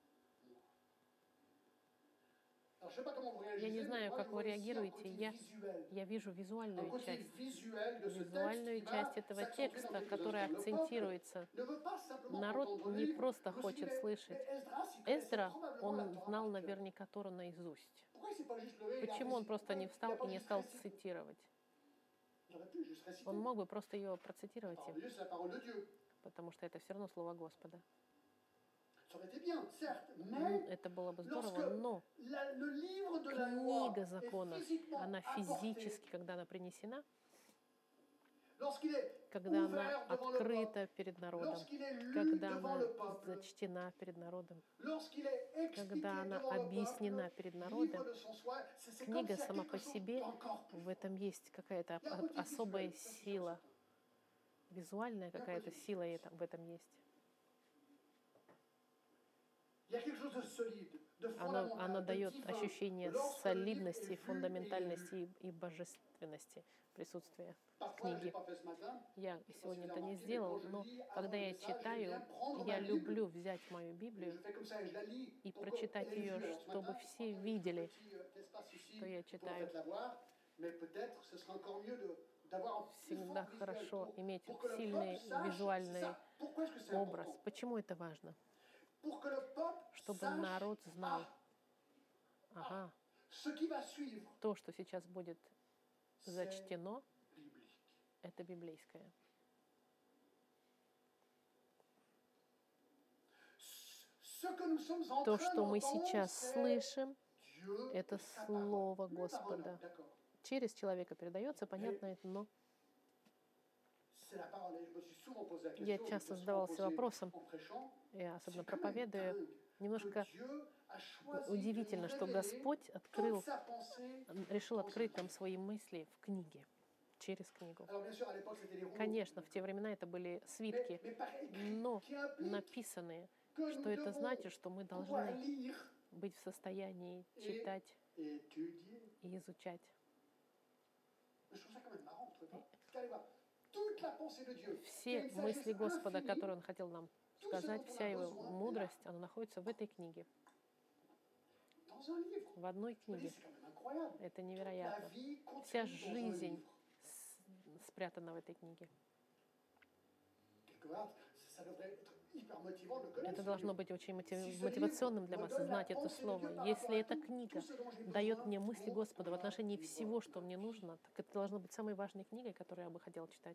Alors, je sais pas comment vous Я réagissez, не mais знаю, moi, как je вы vois ici un реагируете. côté Я, visuel. я вижу Un визуальную côté часть. visuel de ce texte Визуальную qui va часть этого s'accentuer текста, dans quelques которая instants. Le peuple акцентируется. ne veut pas simplement Народ entendre le не livre. просто Je me suis хочет dit, mais слышать. Esdras, il connaissait Эздра, probablement la он Torah знал par cœur. наверняка Тору наизусть. Pourquoi il s'est pas juste levé et il a Почему он récité? просто не Pourquoi встал il a pas и не juste стал récité? цитировать? Il aurait pu juste réciter. Он мог бы просто ее процитировать, La им, parole de Dieu, c'est la parole de Dieu. потому что это все равно Слово Господа. Ça aurait été bien, certes, М, mais Это было бы lorsque здорово, но la- le livre de la loi книга est закона, physiquement она apportée, физически, когда она принесена, lorsqu'il est когда она ouvert devant le peuple, открыта перед народом, lorsqu'il est lu когда devant она le peuple, зачтена перед народом, lorsqu'il est expliqué когда она devant le объяснена peuple, перед livre народом, de son soi, c'est c'est comme книга s'il y a сама quelque по chose себе, d'encore plus в fort. этом есть какая-то Il y a un о- côté особая visuel, ça, c'est sûr, сила, certain. визуальная какая-то сила и это- в этом есть. Il y a quelque chose de solide, de Оно, fondamental, оно de дает divin. ощущение Lorsque le livre солидности, est vu et фундаментальности lu. и, и божественности присутствия в Parfois, je l'ai книге. pas fait ce matin. Я Je sais pas сегодня si это vous avez не remarqué, mais сделал, quand je но lis avant когда le я message, j'aime читаю, bien prendre я ma Bible люблю взять мою et Библию je fais comme ça et je la lis и pour que прочитать elle est ее, vue. Alors, ce чтобы matin, все regardez ce видели, petit, euh, espace ici, что я vous pouvez en читаю. fait l'avoir, mais peut-être ce sera encore mieux de- d'avoir un plus Всегда fort visuel хорошо pour- иметь pour que le сильный peuple sache, c'est визуальный ça. Pourquoi est-ce que c'est образ. important? Почему это важно? Pour que le peuple Чтобы sache, народ знал, ah, ага, ce qui va suivre, то, что сейчас будет c'est зачтено, biblique. это библейское. Ce que nous sommes en То, train что мы d'entendre, сейчас c'est слышим, Dieu это et sa Слово parole. Mes paroles, Господа. d'accord. Через человека передается, понятно это, но C'est la parole. Et je me suis souvent posé la question, я je me часто suis souvent задавался posé вопросом, en prêchant, я c'est особенно quand même проповедуя, dingue немножко que Dieu a choisi de удивительно, nous что révéler Господь toute открыл, sa pensée. решил открыть нам свои мысли в книге, через книгу. Alors bien sûr, à l'époque, c'était les rouleaux. Конечно, в те времена это были Mais, свитки, mais par écrit, но qui implique написанные, que что nous это devons значит, что мы pouvoir должны lire быть в состоянии et читать étudier. и изучать. Je trouve ça quand même marrant, vous trouvez pas? Parce qu'allez voir, Все мысли Господа, которые Он хотел нам сказать, вся Его мудрость, она находится в этой книге. В одной книге. Это невероятно. Вся жизнь спрятана в этой книге. Это должно быть очень мотивационным для вас, знать это слово. Если эта книга дает мне мысли Господа в отношении всего, что мне нужно, так это должно быть самой важной книгой, которую я бы хотела читать.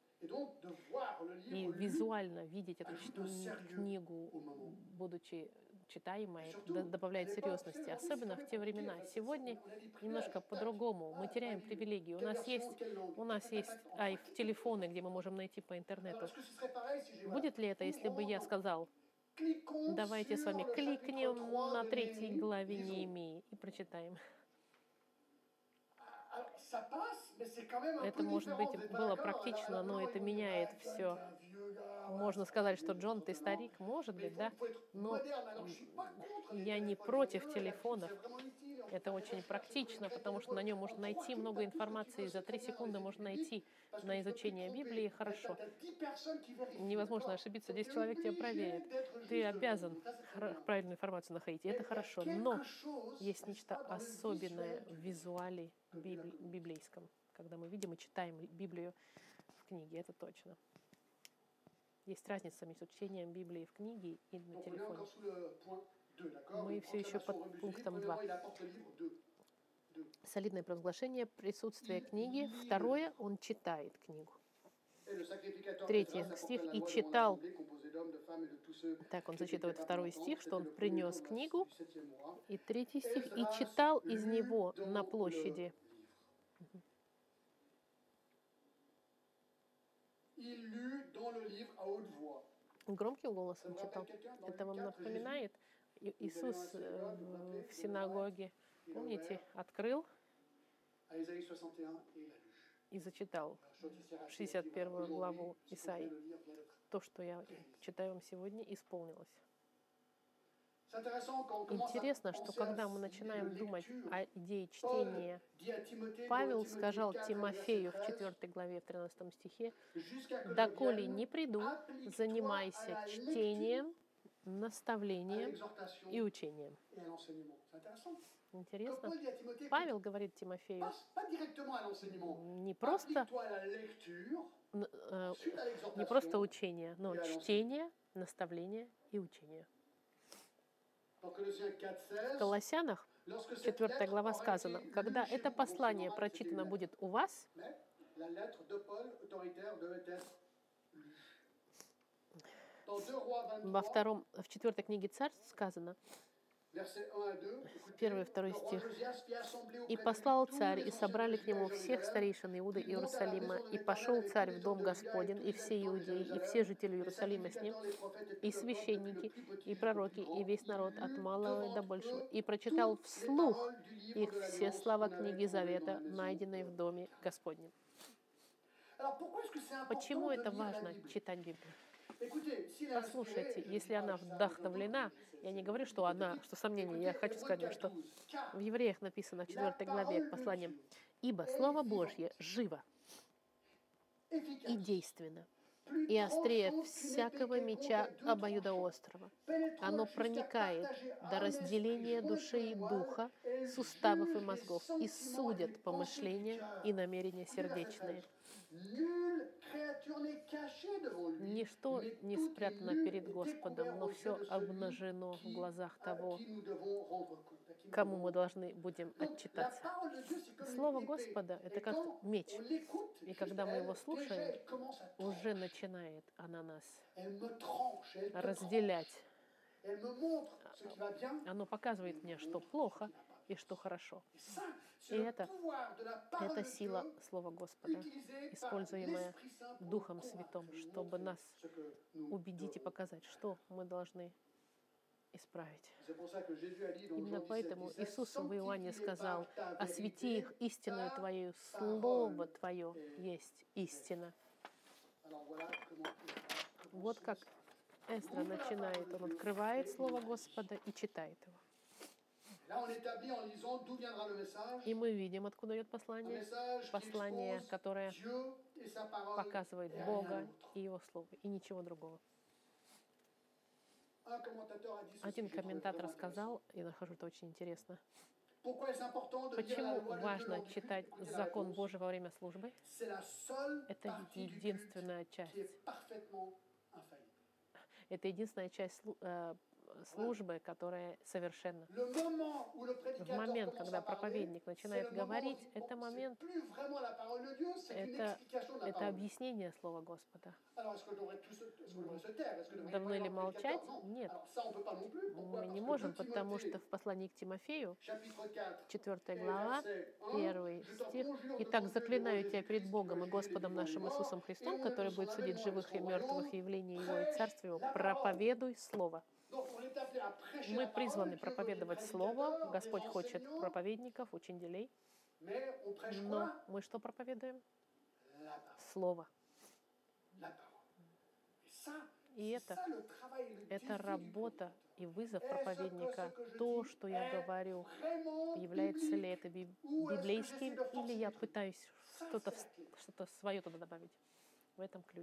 И визуально видеть эту книгу, будучи читаемой, добавляет серьезности, особенно в те времена. Сегодня немножко по-другому. Мы теряем привилегии. У нас есть, у нас есть ай, телефоны, где мы можем найти по интернету. Будет ли это, если бы я сказал, давайте с вами кликнем на третьей главе Неемии и прочитаем? Это, может быть, было практично, но это меняет все. Можно сказать, что Джон, ты старик, может быть, да? Но я не против телефонов. Это очень практично, потому что на нем можно найти много информации. За три секунды можно найти на изучение Библии хорошо. Невозможно ошибиться, десять человек тебя проверят. Ты обязан правильную информацию находить, и это хорошо. Но есть нечто особенное в визуале библи- библейском, когда мы видим и читаем Библию в книге, это точно. Есть разница между чтением Библии в книге и на телефоне. Мы все еще под пунктом два. Солидное провозглашение присутствия книги. Второе, он читает книгу. Третий стих. И читал. Так, он зачитывает второй стих, что он принес книгу. И третий стих. И читал из него на площади. Громким голосом читал. Это вам напоминает Иисус в синагоге. Помните, открыл и зачитал шестьдесят первую главу Исаии. То, что я читаю вам сегодня, исполнилось. Интересно, что когда мы начинаем думать о идее чтения, Павел сказал Тимофею в четвёртой главе, в тринадцатом стихе, «Доколе не приду, занимайся чтением, наставлением и учением». Интересно. Павел говорит Тимофею не просто, не просто учение, но чтение, наставление и учение. В Колоссянах, четвёртая глава, сказано, когда это послание прочитано будет у вас, во втором, в четвёртой книге Царств сказано, первый и второй стих. «И послал царь, и собрали к нему всех старейшин Иуды и Иерусалима, и пошел царь в дом Господень, и все иудеи, и все жители Иерусалима с ним, и священники, и пророки, и весь народ от малого до большего, и прочитал вслух их все слова книги Завета, найденной в доме Господнем». Почему это важно читать Библию? Послушайте, если она вдохновлена, я не говорю, что она, что сомнение, я хочу сказать, что в Евреях написано в четвёртой главе к посланиям, «Ибо Слово Божье живо и действенно, и острее всякого меча обоюдоострого. Оно проникает до разделения души и духа, суставов и мозгов, и судит помышления и намерения сердечные». Ничто не спрятано перед Господом, но все обнажено в глазах того, кому мы должны будем отчитаться. Слово Господа — это как меч. И когда мы его слушаем, уже начинает она нас разделять. Оно показывает мне, что плохо и что хорошо. И это, это сила Слова Господа, используемая Духом Святым, чтобы нас убедить и показать, что мы должны исправить. Именно поэтому Иисус в Иоанне сказал, «Освети их истиною Твоею, Слово Твое есть истина». Вот как Эздра начинает, он открывает Слово Господа и читает его. Là, on établit en lisant d'où viendra le message. И мы видим, откуда идет Un послание. message qui Послание, expose которое Dieu et sa parole показывает et rien Бога d'autre. и Его Слово, и ничего другого. Un commentateur a dit ceci, Один j'ai trouvé комментатор vraiment сказал, и нахожу это очень интересно, Pourquoi est-ce important de lire la почему loi de Dieu важно lors du culte? читать Écoutez la закон réponse. Божий во время службы? C'est la seule Это partie du culte единственная часть. qui est parfaitement infaillible. Это единственная часть слу- э, службы, которая совершенна. Le moment où le В prédicateur момент, commence когда à parler, проповедник c'est начинает le moment où говорить, il dit, это bon, момент, c'est plus vraiment la parole de Dieu, c'est une это, explication de la это parole. объяснение Слова Господа. Alors, est-ce que devrait tous se, est-ce que devrait se taire? Est-ce que devrait Давно y ли avoir un prédicateur? молчать? Non. Нет. Alors, ça, on peut pas non plus. Pourquoi? Мы Parce не que можем, deux потому Timothée, что в послании к Тимофею, chapitre quatre, четвёртая et глава, verset un, первый je t'en стих. conjure «Итак, devant Dieu et заклинаю devant тебя перед Jésus-Christ, Богом и qui va juger les Господом vivants et les нашим morts, Иисусом et Христом, au nom который de будет son судить avènement et de живых и son мертвых, royaume, явление Его и prêche Царствие Его, la parole». проповедуй Слово». Donc, on est appelé à prêcher Мы la parole, призваны Dieu veut des проповедовать Слово, prédicateurs, des Господь хочет enseignants, проповедников, учителей, mais on prêche но quoi? мы что проповедуем? La parole. Слово. La parole. Et ça, И c'est это, ça le travail et le défi это du работа prédicateur. и вызов Est-ce que проповедника. ce que je То, dis что я est говорю, vraiment является ли biblique? это би- Ou est-ce que библейским, j'essaie de или forcer я des trucs? пытаюсь Ça, что-то, c'est la clé. что-то свое туда добавить. В этом ключ.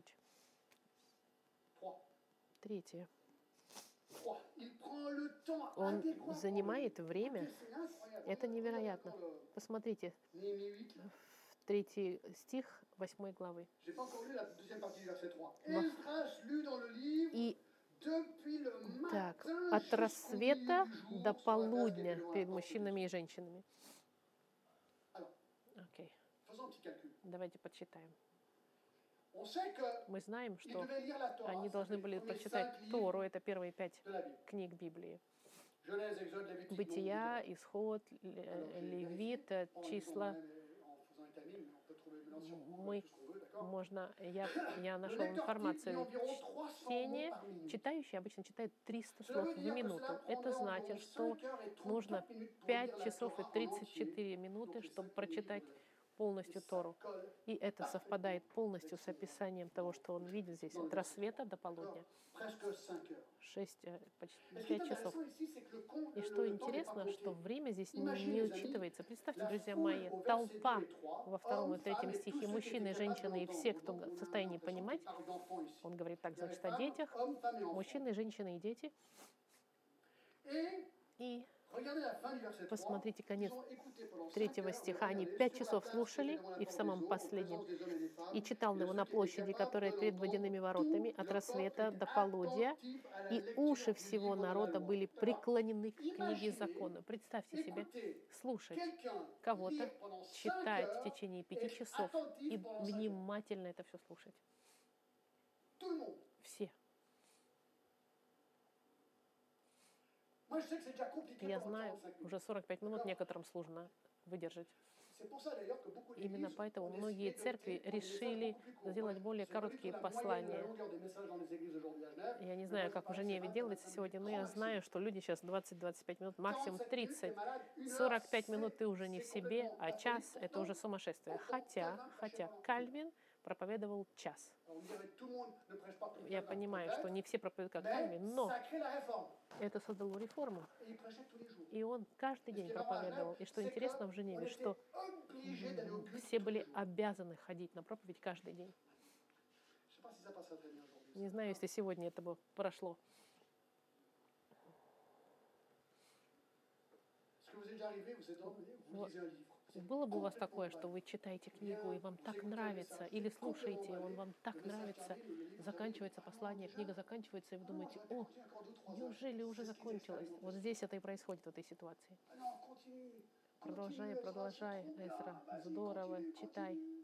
Trois. Третье. Trois. Il prend le temps Он adéquat. занимает время. Écoutez, c'est incroyable. Это Regardez невероятно. encore le Посмотрите, Néhémie huit, là. в третий стих восьмой главы. J'ai pas encore lu la deuxième partie du verset trois. Во- Esdras lut dans le livre И depuis le так, matin от jusqu'au рассвета milieu du jour до sur la place qui était полудня devant la перед porte de мужчинами и женщинами. Alors, Окей, faisons un petit calcul. давайте подсчитаем. On sait que Мы знаем, ils что devaient lire la Torah. они ça должны fait les были premiers прочитать cinq livres Тору, это первые пять de la Bible. книг Библии. Genèse, Exode, Lévitique, Nombre, Бытия, Deutéronome. Исход, Alors, Ле- j'ai Левит, vérifié, en lisant числа. même et en faisant étamine, mais on peut trouver maintenant sur Google Мы tout ce qu'on veut, d'accord? можно, я, я Le нашел lecteur type lit информацию. environ trois cents mots Чтение, par minute. читающий обычно читает триста Cela слов veut в dire que минуту. cela Это prendrait значит, environ что cinq heures et нужно trente-quatre minutes pour пять lire la часов и Torah en тридцать entier. четыре минуты, Donc, les чтобы cinq premiers прочитать livres de la Bible. Et полностью ça Тору. colle И это совпадает полностью с описанием того, что он видит здесь, от рассвета до полудня. presque cinq heures. Шесть, э, почти Mais ce qui est пять часов. intéressant ici, c'est que le con- И le- что le temps n'est pas интересно, что compté. время здесь не, Imaginez, не les amis, учитывается. Представьте, La друзья foule мои, au verset толпа deux et trois, во втором и hommes, третьем femmes et tous стихе, ceux qui мужчины, étaient женщины и capables все, d'entendre. кто Donc, в on a состоянии l'impression qu'il понимать. parle d'enfants ici. Он говорит Il также, y avait значит, о femmes, детях, hommes, femmes et enfants. мужчины, женщины и дети. Et И regardez la fin du verset trois. посмотрите Ils конец ont écouté pendant cinq третьего heures, стиха. Они regardez, пять sur la часов place слушали, qui était devant la и в porte самом des eaux, en последнем. présence des hommes et des femmes, И читал et de его ceux на qui étaient площади, capables которая de перед l'entendre, водяными tout воротами, от le peuple рассвета était до полудня, attentif à la и lecture уши du всего livre de la народа loi. были D'accord? преклонены к книге Imaginez, закона. Представьте себе, écoutez, слушать quelqu'un кого-то, lire pendant cinq читать в heures течение et пяти être часов и attentif pendant cinq heures. внимательно это все слушать. Tout le monde. Все. Moi, je sais que c'est déjà compliqué Я pendant знаю, quarante-cinq minutes. уже сорок пять минут некоторым сложно выдержать. C'est pour ça, d'ailleurs, que beaucoup Именно d'églises поэтому ont многие décidé церкви d'opter pour des messages решили beaucoup plus courts. сделать более C'est pas du tout короткие la moyenne de la послания. longueur des messages dans les églises aujourd'hui à Genève. Я не Mais знаю, moi, je как в parie que c'est Женеве vingt, делается vingt-cinq сегодня, но minutes, я grand знаю, maximum. что люди сейчас двадцать-двадцать пять минут, максимум quarante-cinq minutes, тридцать. t'es malade. Une heure, сорок пять c'est- минут ты уже не в c'est себе, complètement а час aphorique. это уже Pourtant, сумасшествие. pourtant, Хотя, Calvin prêchait хотя pendant une heure. Кальвин проповедовал час. Alors, on dirait que tout le monde ne prêche pas comme Я Calvin, понимаю, что peut-être, не все проповедуют как mais Кальвин, но ça crée la réforme. это создало реформу. Et il prêchait tous les jours. И он каждый Et ce день qui est marrant à проповедовал. Genève, И что c'est интересно в qu'on Женеве, était что obligé d'aller au culte все tous les были jours. обязаны ходить на проповедь каждый день. Je sais pas si ça passerait très bien aujourd'hui. Не знаю, если сегодня это бы прошло. Est-ce que vous êtes déjà arrivé, vous êtes emmené, vous Вот. lisez un livre. C'est Было бы у вас complètement такое, dingue. что вы читаете книгу, и вам так нравится, или слушаете, и он вам так нравится, заканчивается послание, книга заканчивается, и вы думаете, о, неужели уже закончилось? Вот здесь это и происходит в этой ситуации. Ah non, continue. Продолжай, Continue, продолжай, Ezra, c'est trop Эзра, bien. Vas-y, здорово, continue, читай. continue.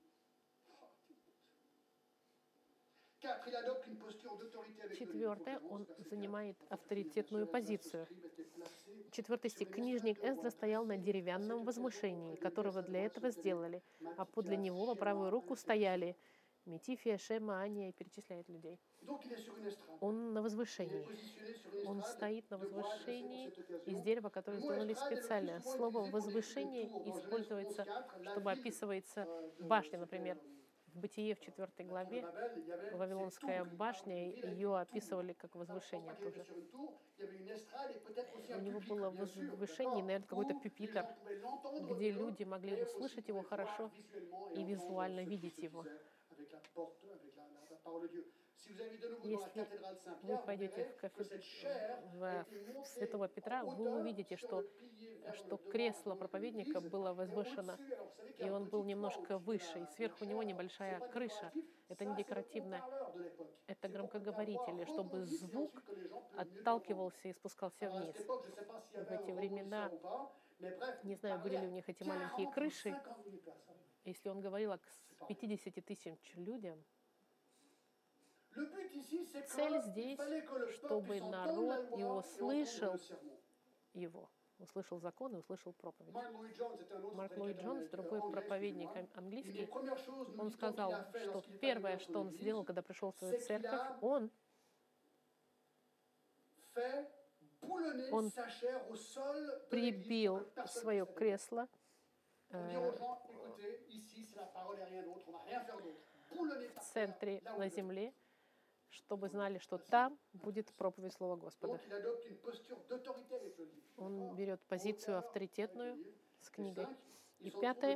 Quatre, il adopte une posture d'autorité avec le livre. Четвертое, Faut он vraiment, c'est занимает clair. авторитетную позицию. Scribe était placé Четвертый стих. Книжник Эздра стоял на деревянном возвышении, которого для этого сделали, а подле него по правую руку стояли Метифия, Шема, Ания, и перечисляет людей. Donc, il est sur une estrade. Он на Il est возвышении. positionné sur une Он estrade стоит на de bois dressé pour возвышении cette occasion. из дерева, которое Le mot сделали estrade est le plus специально. souvent Слово utilisé pour désigner «возвышение» tour. Dans Genèse используется, onze quatre, la чтобы ville, описывается euh, de- башня, c'était, например. euh, В Бытие в четвертой главе Вавилонская башня, ее описывали как возвышение тоже. У него было возвышение, наверное, какой-то пюпитр, где люди могли услышать его хорошо и визуально видеть его. Если вы пойдете в, кафе... в Святого Петра, вы увидите, что, что кресло проповедника было возвышено, и он был немножко выше, и сверху него небольшая крыша. Это не декоративное, это громкоговорители, чтобы звук отталкивался и спускался вниз. В эти времена, не знаю, были ли у них эти маленькие крыши, если он говорил к пятидесяти тысячам людям, цель здесь, чтобы народ его слышал, его, услышал закон и услышал проповедь. Марк Ллойд Джонс, другой проповедник английский, он сказал, что первое, что он сделал, когда пришел в свою церковь, он, он прибил свое кресло э, в центре на земле, чтобы знали, что там будет проповедь Слова Господа. Он берет позицию авторитетную с книгой. И пятое,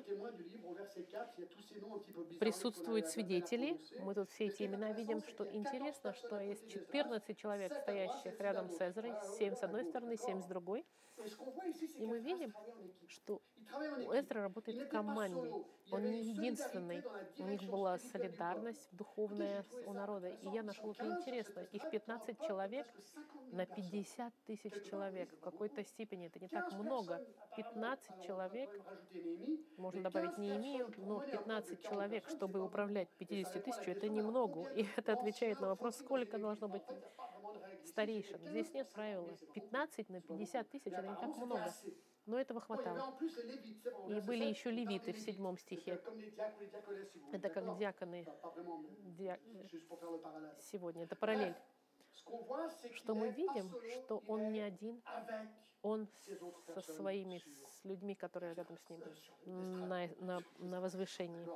присутствуют свидетели. Мы тут все эти имена видим, что интересно, что есть четырнадцать человек, стоящих рядом с Эзрой, семь с одной стороны, семь с другой. И мы видим, что Эзра работает в команде. Он не единственный. У них была солидарность духовная у народа. И я нашел это интересно. Их пятнадцать человек на пятьдесят тысяч человек. В какой-то степени это не так много. пятнадцать человек, можно добавить Неемию, но пятнадцать человек, чтобы управлять пятьюдесятью тысячами, это немного. И это отвечает на вопрос, сколько должно быть старейшин. Здесь нет правила. пятнадцать на пятьдесят тысяч — это не так много. Но этого хватало. И были еще левиты в седьмом стихе. Это как диаконы ди... сегодня. Это параллель. Что мы видим, что он не один, он со своими, с людьми, которые рядом с ним, на, на, на возвышении.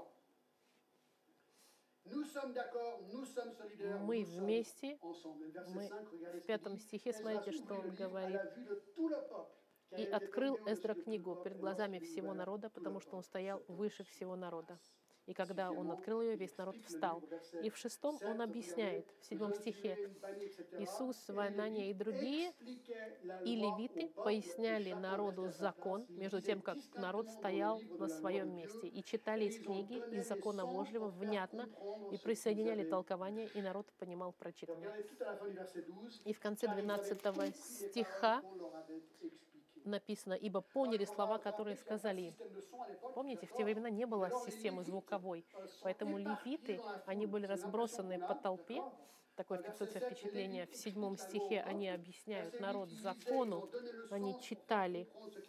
Мы вместе, мы в пятом стихе, смотрите, что он говорит. «И открыл Эздра книгу перед глазами всего народа, потому что он стоял выше всего народа. И когда он открыл ее, весь народ встал». И в шестом он объясняет, в седьмом стихе, Иисус, Ванания и другие, и левиты поясняли народу закон, между тем, как народ стоял на своем месте, и читали из книги, из закона Божьего внятно, и присоединяли толкование, и народ понимал прочитанное. И в конце двенадцатого стиха написано, ибо поняли слова, которые сказали им. Помните, в те времена не было системы звуковой, поэтому левиты, они были разбросаны по толпе. Такое фиксируется впечатление. В седьмом стихе они объясняют народ закону, они читали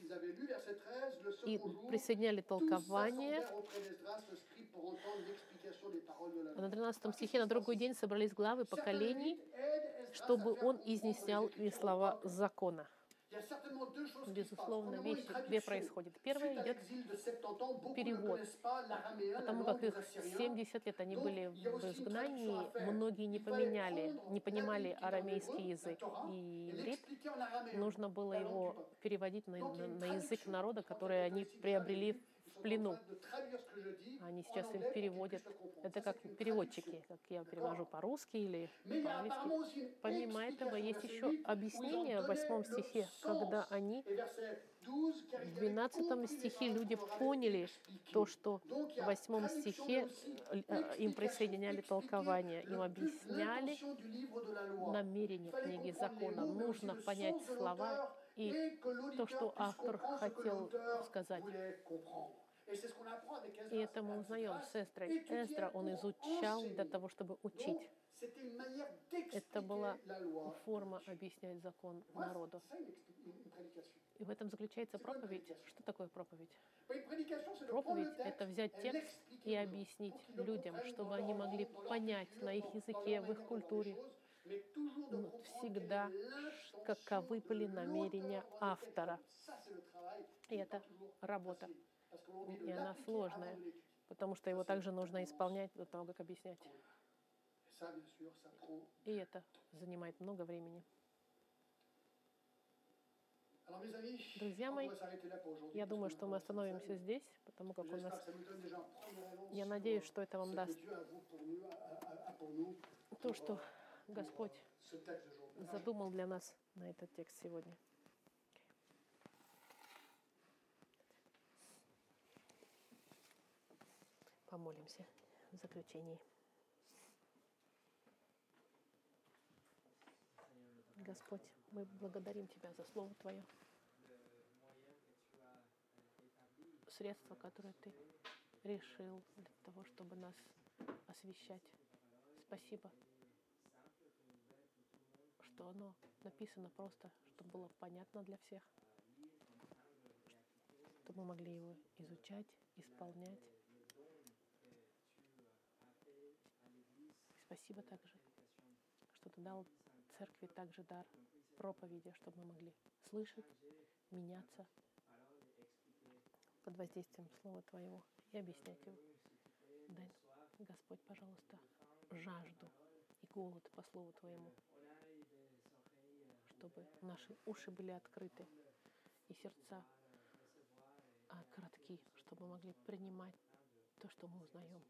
и присоединяли толкование. А на тринадцатом стихе на другой день собрались главы поколений, чтобы он изъяснял им слова закона. Безусловно, вещи две происходят. Первое идет перевод, потому как их семьдесят лет они были в изгнании, многие не поменяли, не понимали арамейский язык. И иврит, нужно было его переводить на, на, на язык народа, который они приобрели в плену. Они сейчас им переводят. Это как переводчики, как я перевожу по-русски или по-английски. Помимо этого, есть еще объяснение в восьмом стихе, когда они в двенадцатом стихе люди поняли то, что в восьмом стихе им присоединяли толкование, им объясняли намерение книги закона. Нужно понять слова и то, что автор хотел сказать. И это мы узнаем с Эздрой. Эздра, он изучал для того, чтобы учить. Это была форма объяснять закон народу. И в этом заключается проповедь. Что такое проповедь? Проповедь — это взять текст и объяснить людям, чтобы они могли понять на их языке, в их культуре, всегда, каковы были намерения автора. И это работа. И она сложная, потому что его также нужно исполнять до того, как объяснять. Et ça, bien sûr, ça prend. И это занимает много времени. Alors, mes amis, Друзья on мои, pourrait s'arrêter là pour aujourd'hui, я parce думаю, que что nous мы avons cette остановимся scène. здесь, потому как у J'espère нас... que ça nous donne déjà un premier élan Я sur надеюсь, что это ce вам que даст Dieu a vous pour nous, a- a- a pour nous, то, pour, что euh, pour, Господь euh, ce texte d'aujourd'hui. Alors, задумал для нас на этот текст сегодня. Помолимся в заключении. Господь, мы благодарим Тебя за Слово Твое, средство, которое Ты решил для того, чтобы нас освещать. Спасибо, что оно написано просто, чтобы было понятно для всех, чтобы мы могли его изучать, исполнять. Спасибо также, что Ты дал церкви также дар проповеди, чтобы мы могли слышать, меняться под воздействием Слова Твоего и объяснять его. Дай, Господь, пожалуйста, жажду и голод по Слову Твоему, чтобы наши уши были открыты и сердца а, кратки, чтобы мы могли принимать то, что мы узнаем.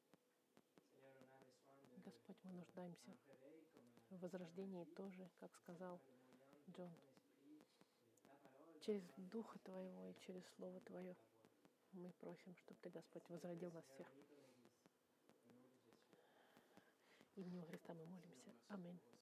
Господь, мы нуждаемся в возрождении тоже, как сказал Джон, через Духа Твоего и через Слово Твое. Мы просим, чтобы Ты, Господь, возродил нас всех. Именем Христа мы молимся. Аминь.